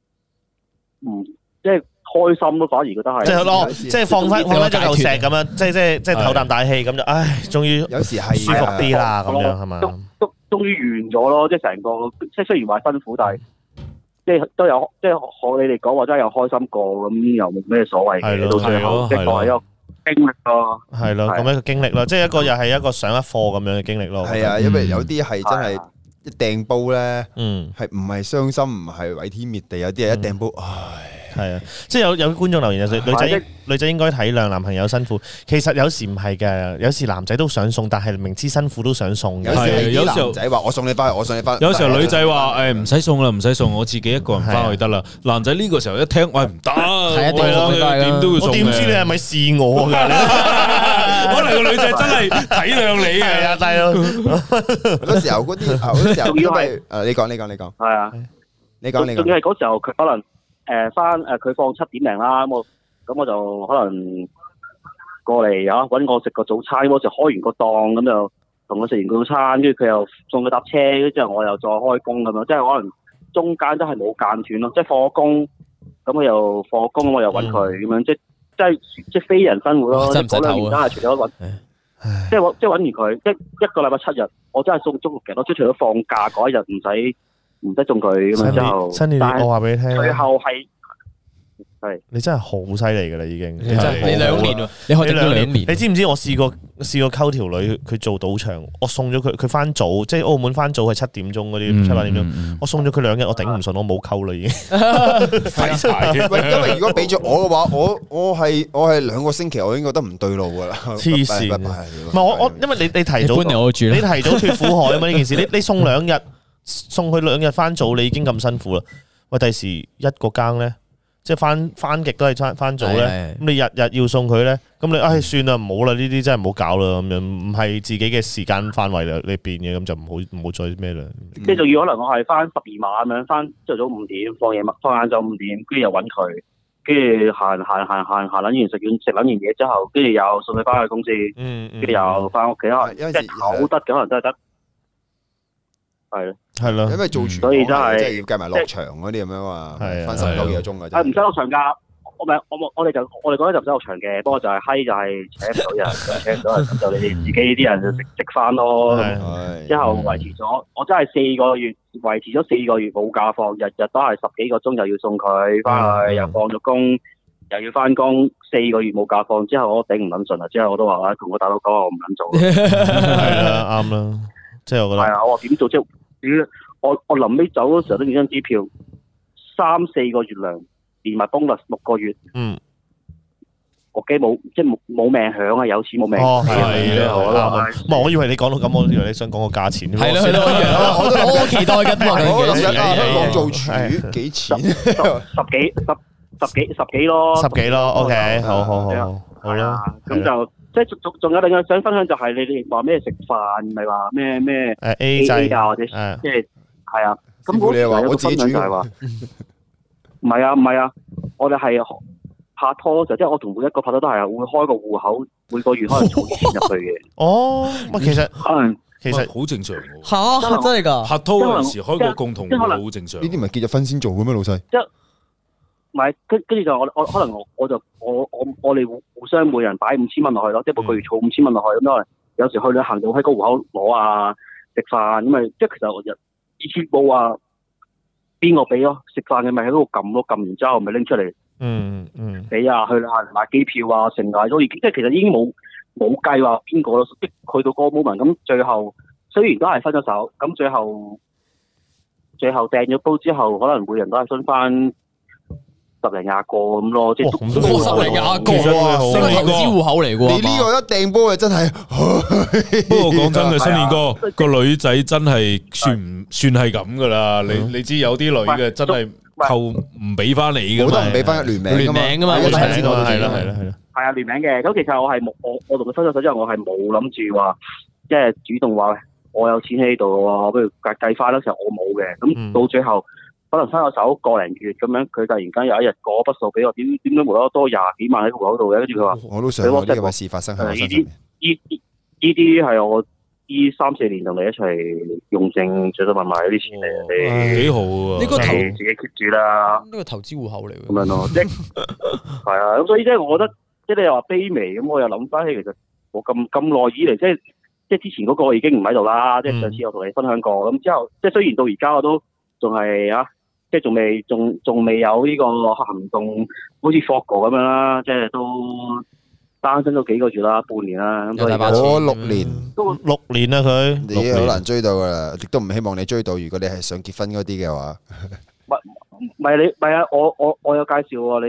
即係開心咯，反而覺得係， 即係放翻咗嚿石咁樣，即係唞啖大氣咁就，唉，終於有時係舒服啲啦，咁樣係嘛？ 都終於完咗咯，即係成個，即係雖然話辛苦，但係即係都有，即係學你哋講話真係有開心過，咁又冇咩所謂嘅，到最後即係作為一個經歷咯。 係咯，咁一個經歷咯，即係一個又係一個上一課咁樣嘅經歷咯。 係啊，因為有啲係真係一掟煲咧，係唔係傷心，唔係毀天滅地，有啲係一掟煲，唉。 係啊，即係有觀眾留言就女仔應該體諒男朋友辛苦，其實有時唔係嘅，有時男仔都想送，但係明知辛苦都想送嘅。 有時男仔話我送你翻去，我送你翻。 有時候女仔話誒唔使送啦，唔使送，我自己一個人翻去得啦。男仔呢個時候一聽，喂唔得，點都要送。 我點知你係咪試我㗎？ 可能個女仔真係體諒你嘅， 阿大佬。 好多時候嗰啲，好多時候因為你講。 係啊， 你講。 仲要係嗰時候佢可能。佢放7點零啦，咁我就可能過嚟揾我食個早餐，嗰時開完個檔咁就同佢食完個早餐，跟住佢又送佢搭車，跟住之後我又再開工咁樣，即係可能中間都係冇間斷咯，即係放工咁佢又放工，我又揾佢咁樣，即係非人生活咯。嗰2年真係除咗揾，即係揾完佢一個禮拜7日，我真係送足6日咯，即係除咗放假嗰一日唔使送佢咁樣之後， 新年我話俾你聽， 最後係你真係好犀利噶啦，已經。 你2年喎，你可以等2年。 你知唔知我試過溝條女，佢做賭場，我送咗佢翻早，即係澳門翻早係7點鐘嗰啲7、8點鐘，我送咗佢2日，我頂唔順，我冇溝啦已經。 廢柴！因為如果俾咗我嘅話，我係2個星期，我已經覺得唔對路噶啦。 黐線！唔係我因為你提早脫苦海啊嘛呢件事，你送2日，送佢2日翻早，你已經咁辛苦啦。喂，第時一個更咧。 即係翻極都係翻早咧，咁你日日要送佢咧，咁你算啦，唔好啦，呢啲真係唔好搞啦，咁樣唔係自己嘅時間範圍裏邊嘅，咁就唔好再咩啦。 即係仲要可能我係翻12碼咁樣，翻朝早5點，放晏晝5點，跟住又揾佢，跟住行撚完食撚完嘢之後，跟住又送佢翻去公司，跟住又翻屋企，即係唞得嘅，可能真係得。係咯， 因為做廚， 所以真係即係要計埋落場嗰啲咁樣嘛，翻19幾個鐘嘅。 唔使落場㗎，我哋嗰陣就唔使落場嘅，不過就係閪就係請唔到人，請唔到人咁就你哋自己啲人就食翻咯。之後維持咗，我真係4個月維持咗4個月冇假放，日日都係10幾個鐘又要送佢翻去，又放咗工，又要翻工，4個月冇假放之後，我頂唔撚順啦。之後我都話同我大佬講我唔撚做。 係啦，啱啦，即係我覺得係啊，我話點做啫？我臨尾走嗰時候都影張支票，3-4個月糧，連埋 bonus 6個月。我驚冇命享啊！有錢冇命。 係啦，我以為你講到咁，我以為你想講個價錢。 係咯，我期待緊我做廚幾錢？ 十幾咯。 10幾咯 ，OK，好啦。 咁就即係仲有另外想分享就係你哋話咩食飯，唔係話咩 A 制啊，或者即係係啊。咁你又話我自己煮就係話唔係啊，我哋係拍拖就即係我同每一個拍拖都係會開個戶口，每個月可能儲錢入去嘅。 哦，其實好正常喎。 嚇，真係㗎！ 拍拖嗰陣時開個共同戶口好正常。 呢啲唔係結咗婚先做嘅咩，老細？ 唔係，跟住就我可能我哋互相每人擺5000蚊落去咯，即係每個月儲5000蚊落去咁樣。有時去旅行就喺個戶口攞啊，食飯咁咪即係其實我以前冇話邊個俾咯，食飯嘅咪喺嗰度撳咯，撳完之後咪拎出嚟。俾啊，去旅行買機票啊，成大都已經即係其實已經冇計話邊個咯，即去到嗰個 moment 咁，最後雖然都係分咗手，咁最後掟咗煲之後，可能每人都係分翻10零20個咁咯，即係 10零20個啊，成個投資戶口嚟㗎。 你呢個一掟煲嘅真係， 不過講真嘅，新年哥個女仔真係算係咁噶啦，你知有啲女嘅真係。扣唔俾翻你噶嘛？ 我都唔俾翻聯名噶嘛， 我都知道， 係啊，聯名嘅。咁其實我係冇，我同佢分咗手之後，我係冇諗住話，即係主動話我有錢喺呢度喎，不如計翻嗰時候我冇嘅。咁到最後可能分咗手個零月咁樣，佢突然間有一日過筆數俾我，點解無啦啦多20幾萬喺個戶口度嘅？跟住佢話我都想呢個事發生喺我身上。 呢啲係我呢3-4年同你一齊用剩最多買啲錢嚟， 你幾好啊！ 呢個投自己 keep 住啦， 呢個投資戶口嚟嘅。 咁樣咯，即係啊，咁所以即係我覺得，即係你又話卑微，咁我又諗翻起，其實我咁耐以嚟，即係之前嗰個已經唔喺度啦，即係上次我同你分享過，咁之後即係雖然到而家我都仲係啊，即係仲未有呢個行動，好似 Fogo 咁樣啦，即係都。單身咗幾個月啦，半年啦，咁我6年， 都6年啦佢， 你好難追到噶啦，亦都唔希望你追到。如果你係想結婚嗰啲嘅話， 唔係啊，我有介紹喎，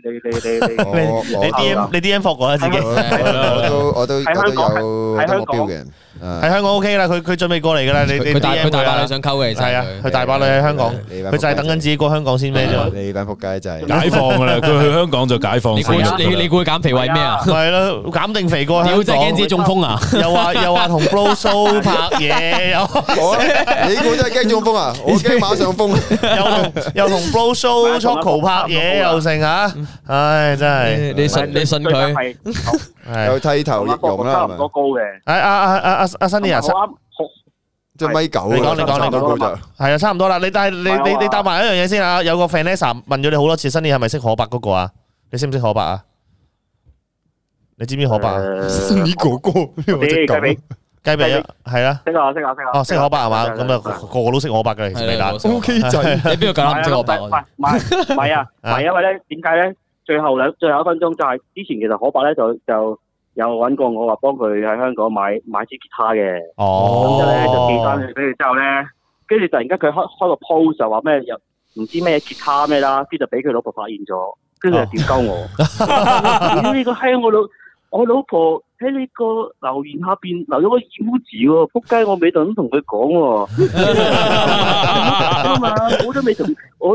你 DM 霍過啦自己， 我都有目標嘅。 喺香港 OK 啦，佢準備過嚟噶啦，佢大把女想溝嘅， 係啊，佢大把女喺香港，佢就係等緊自己過香港先咩啫。 你班仆街就係解放噶啦，佢去香港就解放。 你估佢減肥為咩啊？ 係咯，減定肥過香港。 屌，真係驚自己中風啊！ 又話同 Blow Show 拍嘢， 你估真係驚中風啊？我驚馬上風。 又同 Blow Show Choco 拍嘢又成啊！唉，真係你信佢。 有剃頭易容啦， 差唔多高嘅。 阿 Sunny 啊， 即係米9。 你講就係啊，差唔多啦。但係你答埋一樣嘢先啊。有個 Vanessa 問咗你好多次，Sunny係咪識可伯嗰個啊？你識唔識可伯啊？你知唔知可伯啊 ？Sunny哥哥， 雞髀啊，係啊， 識啊。 哦，識可伯係嘛？咁啊，個個都識可伯嘅，其實未打。 OK 仔， 你邊個夠膽唔識可伯？ 唔係啊，因為咧點解咧？最後1分鐘就係之前其實可伯咧就有揾過我話幫佢喺香港買支吉他嘅，咁之後咧就寄翻去俾佢之後咧，跟住突然間佢開個 post 就話咩又唔知咩吉他咩啦，跟住就俾佢老婆發現咗，跟住就屌鳩我，你個閪我老婆喺呢個留言下邊留咗個妖字喎，仆街我未等同佢講喎，嘛我都未同我都。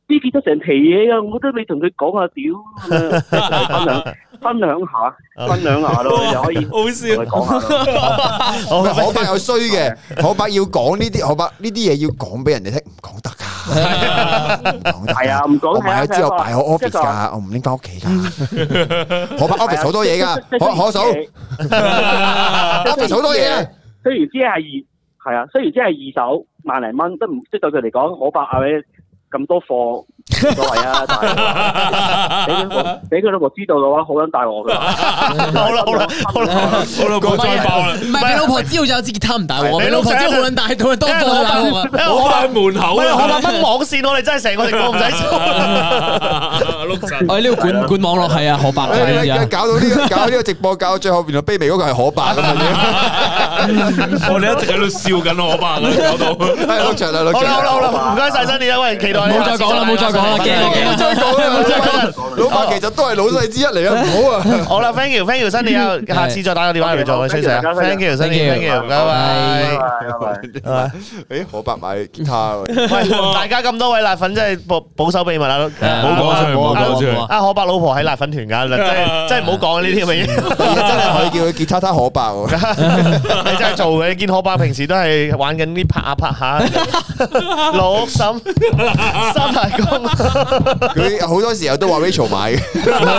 呢結咗成皮嘢啊！我覺得你同佢講下屌咁樣，分享下咯，你就可以好笑同佢講下咯。 可伯有衰嘅，可伯要講呢啲，可伯呢啲嘢要講俾人哋聽，唔講得噶， 係啊，唔講我買咗之後擺喺 office 噶，我唔拎翻屋企噶。可伯 office 好多嘢噶，可嫂 office 好多嘢啊。 雖然只係二手萬零蚊，都唔即對佢嚟講，可伯係咪咁多貨？冇所謂啊，但係俾佢老婆知道嘅話，好撚大鑊㗎。 好啦，唔好再爆啦。 唔係俾老婆知道就有支吉他唔大鑊，俾老婆知道好撚大，同佢多貨大鑊啊！ 我喺門口啊， 可伯掹網線，我哋真係成個直播唔使做。 碌柒。 我呢個管網絡係啊，可伯嘅搞到呢個直播，搞到最後原來卑微嗰個係可伯咁樣。 我哋一直喺度笑緊可伯啊，搞到。 係錄場啦，錄場。 好啦，唔該晒新年，喂，期待你。 冇再講啦，冇再講啦，驚冇再講啦，冇再講。老伯其實都係老細之一嚟啊，唔好啊。 好啦 ，thank you，新年啊，下次再打個電話嚟做，吹水啊 ，thank you，新年 ，thank you，拜拜。 誒，可伯買吉他喎。 喂，大家咁多位辣粉真係保守秘密啊， 冇講出去，冇講出去。 啊，可伯老婆喺辣粉團㗎，真係唔好講呢啲咁嘅嘢。 真係可以叫佢吉他可伯喎。 你真係做嘅，你見可伯平時都係玩緊啲拍下，六嬸三大公。 佢好多時候都話 Rachel 買嘅，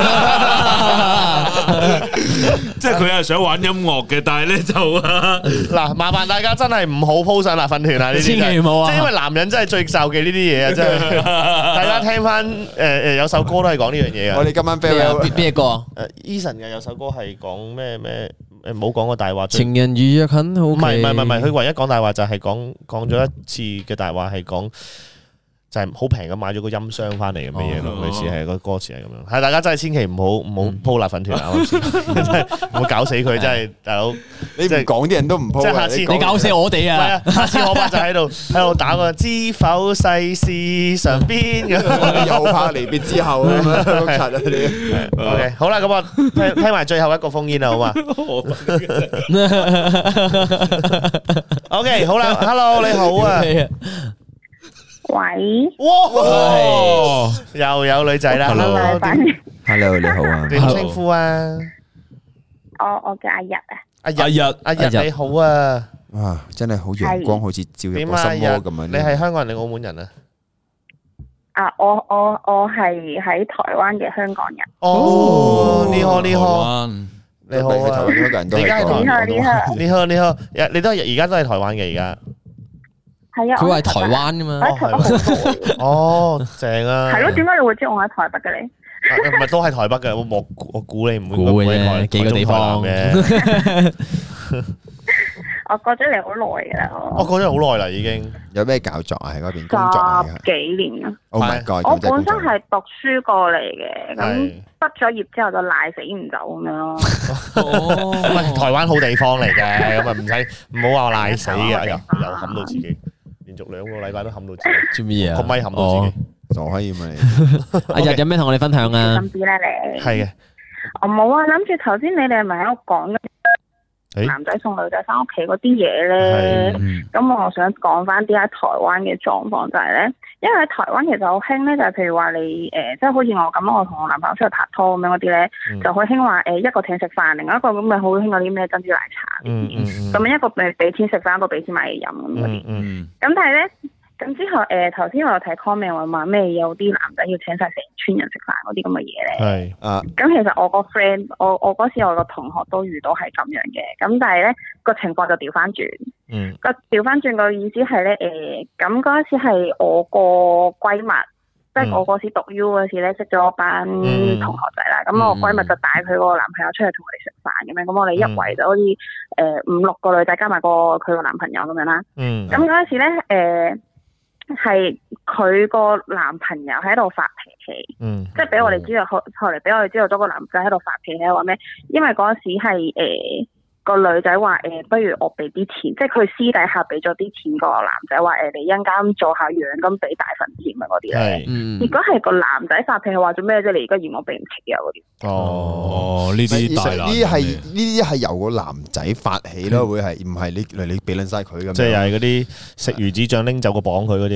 即係佢係想玩音樂嘅，但係咧就嗱，麻煩大家真係唔好 po 上辣粉團啊！呢啲千祈唔好啊！ 即係因為男人真係最受忌呢啲嘢啊！真係，大家聽翻有首歌都係講呢樣嘢啊！ 我哋今晚 farewell 邊個啊 ？Eason 嘅有首歌係講咩唔好講個大話。 情人如若很好， 唔係，佢唯一講大話就係講咗一次嘅大話係講。就係好平咁買咗個音箱翻嚟咁嘅嘢咯，類似係個歌詞係咁樣。係大家真係千祈唔好鋪辣粉團啊！真係唔好搞死佢，真係大佬。你唔講啲人都唔鋪。即係下次你搞死我哋啊！ 下次可伯就喺度打個知否世事常變咁， 又怕離別之後咁樣。 OK， 好啦，咁我聽埋最後一個烽煙啦，好嘛？OK， 好啦 ，Hello， 你好啊。 喂， 哇，又有女仔啦 ，Hello， 你好啊， 點稱呼啊？ 我叫阿日啊， 阿日你好啊， 哇，真係好陽光，好似照入個心窩咁樣。 你係香港人定澳門人啊？ 啊，我係喺台灣嘅香港人。 哦，你好，你好， 你好，台灣香港人都係講。 你好，你都係而家都係台灣嘅而家。 係啊， 佢話係台灣噶嘛？ 喺台北好多。 哦，正啊！ 係咯，點解你會知我喺台北嘅你？ 唔係都係台北嘅，我估你唔會估嘅幾個地方嘅。 我過咗嚟好耐噶啦， 我過咗好耐啦，已經。有咩搞作啊？喺嗰邊工作啊 ？10幾年啊 ！Oh my god！ 我本身係讀書過嚟嘅，咁畢咗業之後就賴死唔走咁樣咯。 哦，台灣好地方嚟嘅，咁啊唔好話我賴死嘅，又冚到自己，連續2個禮拜都冚到自己。做乜嘢啊？個咪冚到自己，傻閪咁啊你！ 阿日有咩同我哋分享啊？ 心知啦你。 係嘅。 我冇啊，諗住頭先你哋係咪喺度講男仔送女仔翻屋企嗰啲嘢咧？咁我想講翻啲喺台灣嘅狀況就係咧，因為喺台灣其實好興咧，就係譬如話你即係好似我咁，我同我男朋友出去拍拖咁樣嗰啲咧，就好興話一個請食飯，另外一個咁咪好興嗰啲咩珍珠奶茶咁樣一個俾錢食飯，一個俾錢買嘢飲咁嗰啲。咁但係咧。咁之後頭先我有睇 comment 話咩有啲男仔要請晒成村人食飯嗰啲咁嘅嘢咧。係啊。咁其實我個 friend， 我嗰時我個同學都遇到係咁樣嘅。咁但係咧個情況就調翻轉。個調翻轉個意思係咧咁嗰時係我個閨蜜，即係我嗰時讀 U 嗰時咧識咗班同學仔啦。咁我閨蜜就帶佢個男朋友出去同我哋食飯咁樣。咁我哋一圍就好似5、6個女仔加埋佢個男朋友咁樣啦。咁嗰時咧係佢個男朋友喺度發脾氣，即係俾我哋知道，後嚟俾我哋知道咗個男仔喺度發脾氣，話咩？因為嗰時係個女仔話不如我俾啲錢，即係佢私底下俾咗啲錢個男仔話你一陣間做下樣咁俾大份錢啊嗰啲咧。如果係個男仔發脾氣話做咩啫？你而家嫌我俾唔起啊嗰啲。 哦，呢啲大男， 呢啲係由個男仔發起咯，會係唔係你俾撚晒佢咁？ 即係又係嗰啲食魚子醬拎走個綁佢嗰啲。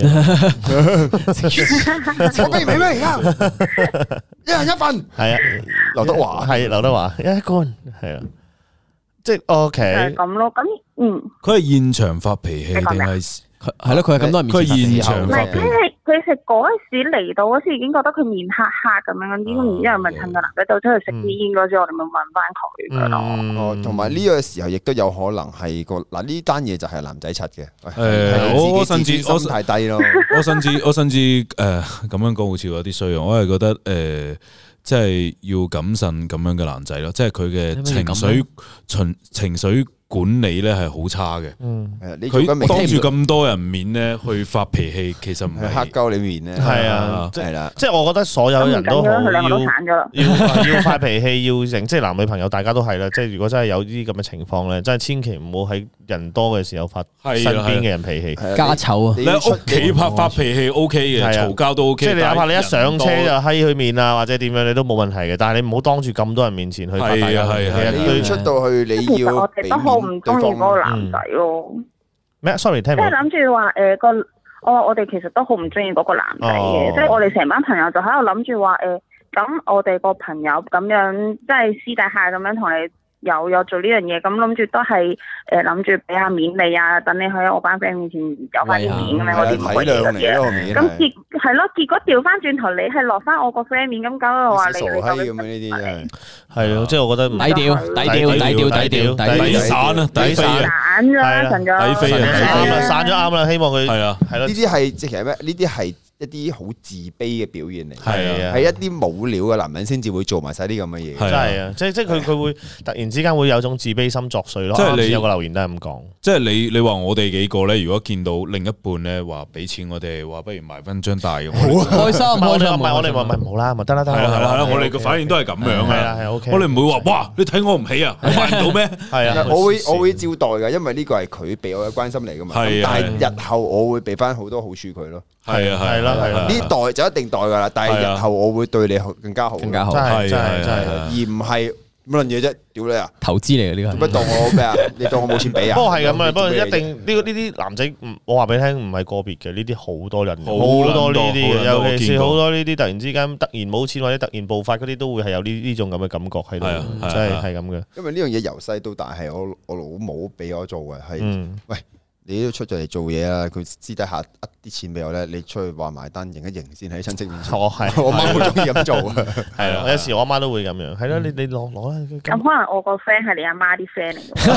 我俾唔起咩而家？一人一份。係啊，劉德華係劉德華一罐係啊。即係 OK， 係咁咯。咁佢係現場發脾氣定係係咯？佢係咁多人面前佢現場發脾氣。 佢食嗰時嚟到嗰時已經覺得佢面黑黑咁樣，然之後咪趁個男仔走出去食啲煙嗰時，我哋咪問翻佢噶咯。 哦，同埋呢個時候亦都有可能係個嗱呢單嘢就係男仔柒嘅。 我甚至心太低咯。 我甚至咁樣講好似有啲衰啊！我係覺得即係要謹慎咁樣嘅男仔咯，即係佢嘅情緒管理咧係好差嘅。佢當住咁多人面咧去發脾氣，其實唔係黑鳩你面咧。 係啊， 係啦， 即係我覺得所有人都好要發脾氣，要成即係男女朋友大家都係啦。即係如果真係有啲咁嘅情況咧，真係千祈唔好喺人多嘅時候發身邊嘅人脾氣。 家醜啊！ 你喺屋企發脾氣 OK 嘅，嘈交都 OK。 即係你哪怕你一上車就閪佢面啊，或者點樣你都冇問題嘅。但係你唔好當住咁多人面前去發大家脾氣。 你要出到去，你要我哋都好唔中意嗰個男仔咯。 咩？Sorry，聽唔即係諗住話我哋其實都好唔中意嗰個男仔嘅，即係我哋成班朋友就喺度諗住話咁我哋個朋友咁樣即係私底下咁樣同你有做呢樣嘢，咁諗住都係諗住俾下面你啊，等你喺我班 friend 面前有翻啲面咁樣嗰啲咁嘅嘢。咁結果調翻轉頭，你係落翻我個 friend 面，咁搞到話你傻閪咁樣呢啲真係係咯，即係我覺得低調， 抵散啊，抵飛啊， 散咗，神咗， 抵飛啊， 散咗啱啦，希望佢係啊， 係咯， 呢啲係即係其實咩？呢啲係一啲好自卑嘅表現嚟， 係啊， 係一啲冇料嘅男人先至會做埋晒啲咁嘅嘢， 真係啊！即係佢會突然之間會有種自卑心作祟咯。 即係你有個留言都係咁講， 即係你話我哋幾個咧，如果見到另一半咧話俾錢我哋，話不如埋翻張大咁， 開心我哋話唔好啦，咪得啦， 係啦，我哋嘅反應都係咁樣嘅， 係 OK。 我哋唔會話哇，你睇我唔起啊，我買唔到咩？ 係啊， 我會照待㗎，因為呢個係佢俾我嘅關心嚟㗎嘛。但係日後我會俾翻好多好處佢咯。 係啊，係啦， 呢代就一定代㗎啦，但係日後我會對你更加好， 更加好， 真係， 而唔係乜撚嘢啫，屌你啊！ 投資嚟嘅呢個， 做乜當我咩啊？你當我冇錢俾啊？ 不過係咁啊，不過一定呢啲男仔，我話俾你聽，唔係個別嘅，呢啲好多人，好多呢啲嘅，尤其是好多呢啲突然之間突然冇錢或者突然暴發嗰啲，都會係有呢種咁嘅感覺喺度，真係咁嘅。 因為呢樣嘢由細到大係我老母俾我做嘅，係喂。你都出咗嚟做嘢啦，佢私底下啲錢俾我咧，你出去話埋單，認一認先喺親戚面前。我媽好中意咁做啊，係啊，有時我阿媽都會咁樣，係咯，你攞啦。 咁可能我個 friend 係你阿媽啲 friend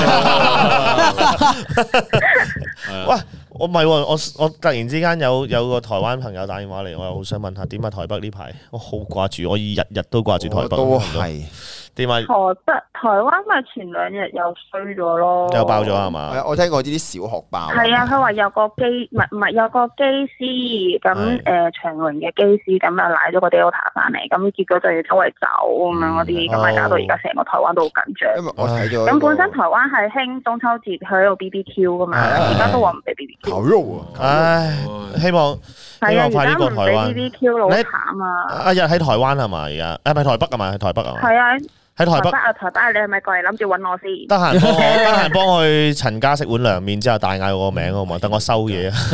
嚟。 喂，我唔係喎，我突然之間有個台灣朋友打電話嚟，我又好想問下點啊台北呢排，我好掛住，我日日都掛住台北。 都係。 點啊？ 台灣咪前2日又衰咗咯， 又爆咗係嘛？ 我聽過呢啲小學爆。 係啊，佢話有個唔係有個機師咁長榮嘅機師咁啊，賴咗個 Delta 翻嚟，咁結果就要周圍走咁樣嗰啲，咁咪搞到而家成個台灣都好緊張。 因為我睇咗。 咁本身台灣係興中秋節喺度 BBQ 噶嘛，而家都話唔俾 BBQ。 烤肉啊！ 唉，希望快啲過台灣。 BBQ 好慘啊！ 阿日喺台灣係嘛？而家係咪台北啊嘛？喺台北啊嘛？ 係啊。 喺台北你係咪過嚟諗住揾我先？ 得閒幫我去陳家食碗涼麵之後，大嗌我個名好嘛？等我收嘢啊！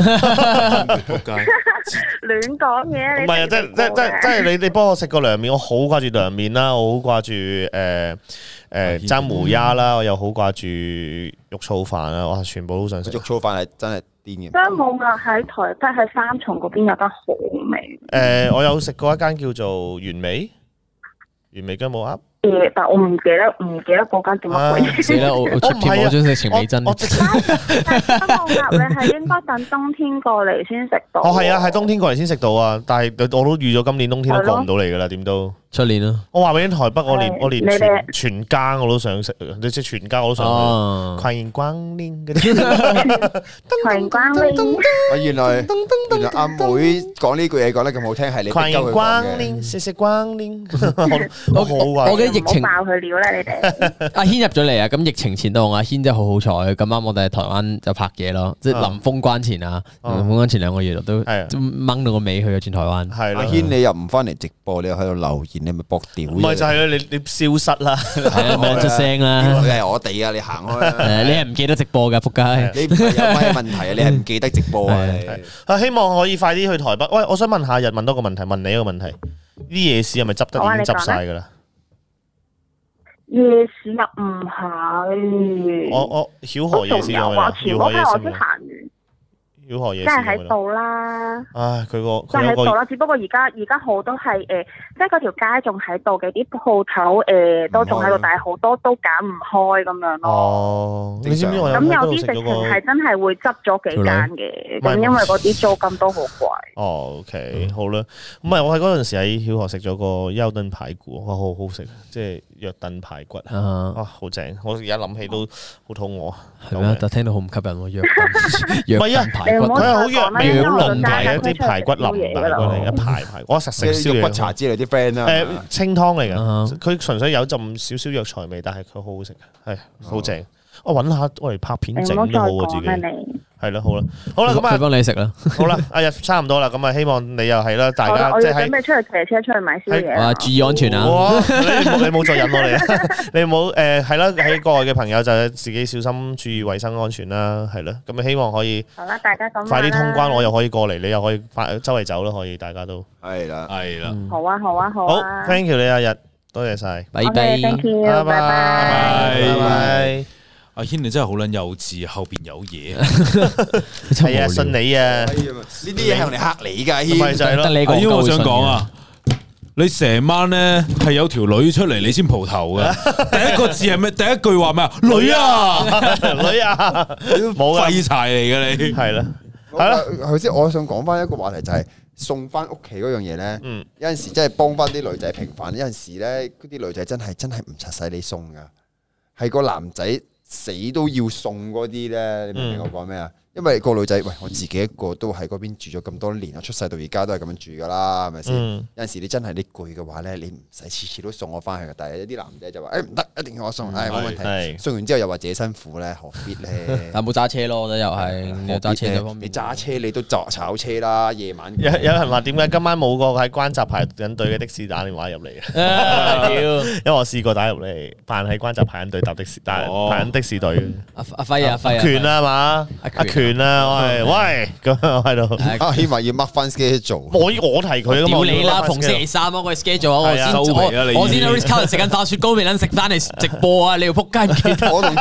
亂講嘢！ 唔係啊，即係你幫我食個涼麵，我好掛住涼麵啦，我好掛住蒸梅丫啦，我又好掛住肉燥飯啦，哇！全部都想食。 肉燥飯係真係癲嘅。 真冇㗎，喺台北喺三重嗰邊有間好味。 我有食過一間叫做原味雞母鴨。 但我唔記得嗰間點乜鬼嘢。 死啦！我出貼我想食情美珍。 但係雞母鴨你係應該等冬天過嚟先食到。 係啊，係冬天過嚟先食到啊！但係我都預咗今年冬天都過唔到嚟噶啦，點都。 出年咯。 我話俾你台北，我連你哋全家我都想食，你即係全家我都想去。歡迎光臨嗰啲。 歡迎光臨。 原來阿妹講呢句嘢講得咁好聽，係你歡迎光嘅。 臨，謝謝光臨。 我嘅疫情唔好爆佢料啦，你哋。 阿軒入咗嚟啊！咁疫情前都阿軒真係好好彩，咁啱我哋喺台灣就拍嘢咯，即係臨封關前啊，臨封關前2個月都掹到個尾去咗轉台灣。 係阿軒你又唔翻嚟直播，你又喺度留言，你咪搏屌。 唔係就係咯，你消失啦， 係啊，冇出聲啦。 你係我哋啊，你行開啦。 你係唔記得直播㗎，仆街。 你唔係有咩問題啊？你係唔記得直播啊？ 希望可以快啲去台北。喂，我想問下日問多個問題，問你一個問題：啲夜市係咪執得已經執晒㗎啦？ 夜市又唔係。 我曉河夜市有冇啊？ 前嗰排我先行完。 曉河夜市即係喺度啦， 唉，佢個即係喺度啦。只不過而家好多係即係嗰條街仲喺度嘅，啲鋪頭都仲喺度，但係好多都揀唔開咁樣咯。 哦，你知唔知我咁有啲直情係真係會執咗幾間嘅，咁因為嗰啲租金都好貴。 哦，OK，好啦，唔係我喺嗰陣時喺曉河食咗個休燉排骨，哇，好好食，即係約燉排骨啊，好正！我而家諗起都好肚餓。 係咩？但聽到好唔吸引喎，約燉排骨。 佢係好藥味好濃嘅一啲排骨淋排骨嚟，一排，我實食燒肉骨茶之類啲 friend 啦。 清湯嚟嘅，佢純粹有陣少少藥材味，但係佢好好食，係好正。我揾下我嚟拍片整都好啊，自己係啦，好啦，咁啊， 佢幫你食啦。 好啦，阿日差唔多啦，咁啊，希望你又係啦，大家即係準備出去騎車出去買宵夜。 哇，注意安全啊！ 你冇再引我嚟啊！你冇係啦，喺國外嘅朋友就自己小心注意衞生安全啦，係啦，咁啊，希望可以好啦，大家咁快啲通關，我又可以過嚟，你又可以周圍走啦，可以大家都係啦， 好啊， 好 ，thank you 你阿日，多謝晒， 拜拜， 拜拜。 阿軒你真係好撚幼稚，後邊有嘢。 係啊，信你啊！ 呢啲嘢係用嚟嚇你㗎，軒。 咪就係咯。 因為我想講啊，你成晚咧係有條女出嚟，你先蒲頭嘅。第一個字係咩？第一句話咩啊？女啊， 女啊，冇廢柴嚟嘅你。 係啦，係啦。 頭先我想講翻一個話題就係送翻屋企嗰樣嘢咧。有陣時真係幫翻啲女仔平反，有陣時咧嗰啲女仔真係唔柒使你送㗎，係個男仔。死都要送嗰啲咧，你明唔明我講咩啊？因為個女仔，喂，我自己一個都喺嗰邊住咗咁多年，我出世到而家都係咁樣住噶啦，係咪先？有陣時你真係你攰嘅話咧，你唔使次次都送我翻去嘅。但係有啲男仔就話，唔得，一定要我送，冇問題。送完之後又話自己辛苦咧，何必咧？ 但冇揸車咯，我覺得又係揸車呢方面。 你揸車你都炒車啦，夜晚。 有人話點解今晚冇個喺關閘排緊隊嘅的士打電話入嚟嘅？因為我試過打入嚟，扮喺關閘排緊隊搭的士，但係排緊的士隊。 阿輝啊，輝權啊嘛，阿權啊，喂，咁我喺度。 阿希望要 mark 翻 schedule。 我提佢， 屌你啦！逢星期三嗰個 schedule，我先喺 Ritz-Carlton 食緊飯雪糕，未撚食翻嚟直播啊！你要仆街唔記得？ 我同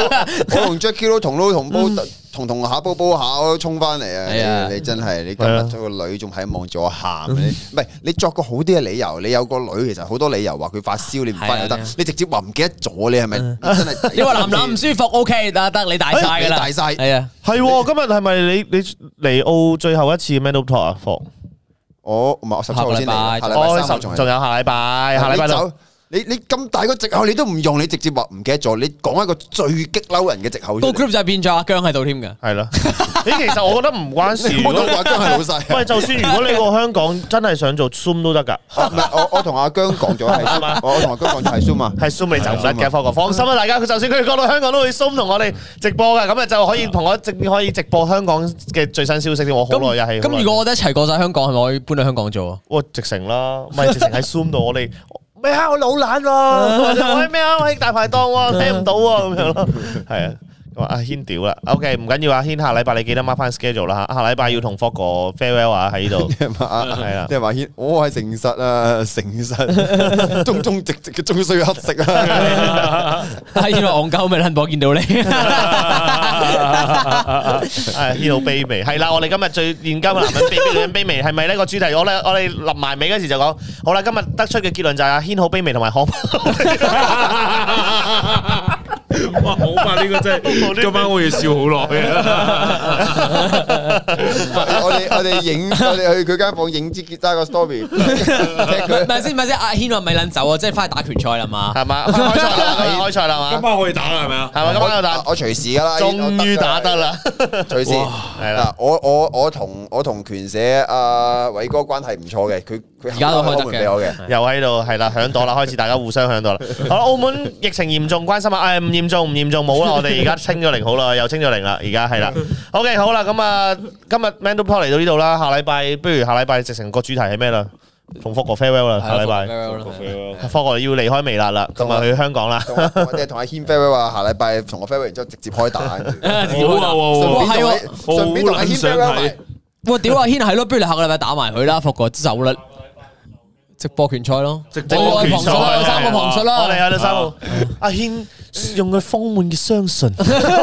Jackie 都同下煲下衝翻嚟啊！你真係你今日咗個女仲喺望住我喊，唔係你作個好啲嘅理由，你有個女其實好多理由話佢發燒你唔翻又得，你直接話唔記得咗，你係咪真係？ 你話男唔舒服 OK 得，你大晒噶啦， 大晒係啊， 係今日係咪你嚟澳最後一次 Mental Talk 啊？ 我17號先嚟，下禮拜3仲有下禮拜走。你咁大個藉口你都唔用，你直接話唔記得咗，你講一個最激嬲人嘅藉口。 個 group 就變咗阿姜喺度添㗎。 係咯，其實我覺得唔關事。 我都話姜係老細。 喂，就算如果你個香港真係想做 Zoom 都得㗎。 唔係，我同阿姜講咗係 Zoom 啊。我同阿姜講咗係 Zoom 啊。 係 Zoom 你就唔得嘅，科哥放心啦，大家。佢就算佢講到香港都會 Zoom 同我哋直播㗎，咁啊就可以同我可以直播香港嘅最新消息。我好耐又係。 咁如果我哋一齊過晒香港，係咪可以搬去香港做啊？ 哇！直情啦，唔係直情喺 Zoom 度我哋。咩啊！我老懶喎，我咩啊！我喺大排檔喎，聽唔到喎，咁樣咯，係啊。咁阿軒屌啦 ，OK 唔緊要，阿軒下禮拜你記得 mark 翻 schedule 啦嚇，下禮拜要同霍哥 farewell 啊喺呢度，係啦。 即係話軒，我係誠實啊，誠實，忠忠直直嘅終須乞食啊。 阿軒話戇鳩咪撚播見到你， 係軒好卑微，係啦，我哋今日最現今嘅男人卑微，女人卑微，係咪呢個主題？我哋臨埋尾嗰時就講，好啦，今日得出嘅結論就係阿軒好卑微同埋可。 哇，好吧，呢個真係今晚我要笑好耐啊！ 我哋去佢間房影支吉他個 story， 唔係先，阿軒話咪撚走啊，即係翻去打拳賽啦嘛， 係嘛？開賽啦嘛？ 今晚可以打啦，係咪啊？ 係嘛？今晚有打， 我隨時噶啦， 終於打得啦， 隨時係啦。我同拳社阿偉哥關係唔錯嘅，佢而家都開得嘅， 又喺度係啦，響朵啦，開始大家互相響朵啦。好啦，澳門疫情嚴重，關心啊，唔嚴重，冇啦，我哋而家清咗零好啦，又清咗零啦，而家係啦。OK， 好啦，咁啊，今日 Man to Pod 嚟到呢度啦，下禮拜不如下禮拜直成個主題係咩啦？同福哥 farewell 啦，下禮拜福哥要離開微辣啦，咁啊去香港啦。 我哋同阿軒 farewell 話下禮拜同我 farewell 然之後直接開打，順便同阿軒 farewell 埋。 哇！屌阿軒係咯，不如你下個禮拜打埋佢啦，福哥走啦。直播拳賽咯， 直播拳賽有3個旁述啦， 我哋有3個。阿軒用佢豐滿嘅相信，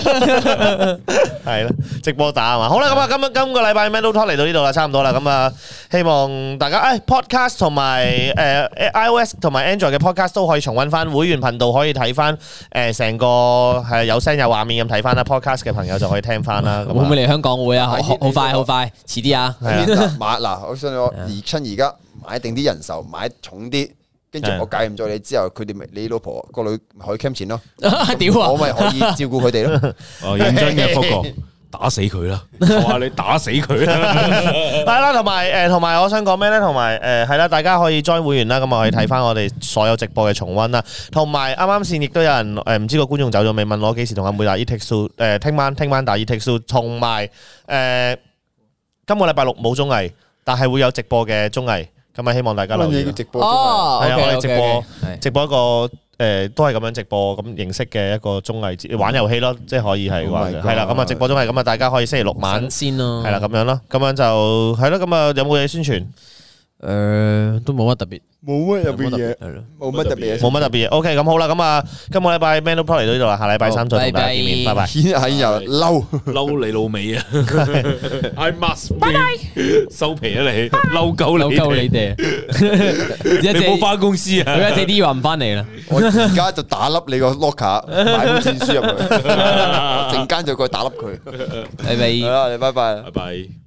係啦，直播打係嘛？好啦，咁啊，今個禮拜 Man to Talk 嚟到呢度啦，差唔多啦。咁啊，希望大家podcast 同埋iOS 同埋 Android 嘅 podcast 都可以重溫翻，會員頻道可以睇翻成個係有聲有畫面咁睇翻啦。podcast 嘅朋友就可以聽翻啦。 會唔會嚟香港會啊？好快，遲啲啊！ 嗱，我信我而家。買定啲人手，買重啲，跟住我介唔咗你之後，佢哋咪你老婆個女可以 cam 錢咯。 屌啊！ 我咪可以照顧佢哋咯。 哦，認真嘅福哥，打死佢啦！我話你打死佢啦！ 係啦，同埋我想講咩咧？同埋係啦，大家可以 join 會員啦，咁啊可以睇翻我哋所有直播嘅重溫啦。同埋啱啱先亦都有人唔知個觀眾走咗未？問我幾時同阿妹打 E-Take Two？ 聽晚打 E-Take Two， 同埋今個禮拜六冇綜藝，但係會有直播嘅綜藝。咁啊，希望大家留意直播， 係啊，我哋直播一個都係咁樣直播咁形式嘅一個綜藝玩遊戲咯，即係可以係話係啦。咁啊，直播綜藝咁啊，大家可以星期六晚先咯， 係啦，咁樣咯，咁樣就係咯。咁啊，有冇嘢宣傳？ 都冇乜特別， 冇乜特別嘢，冇乜特別嘢， 冇乜特別嘢。OK，咁好啦，咁啊，今個禮拜 Man to Pod 嚟到呢度啦，下禮拜3再同大家見面，拜拜。 係又嬲你老味啊 ！I must，拜拜，收皮啊你，嬲鳩你哋，你冇翻公司啊？ 佢一借啲話唔翻嚟啦， 我而家就打笠你個 locker，買本證書入去，陣間就過去打笠佢。 拜拜， 好啦，你拜拜。 拜拜。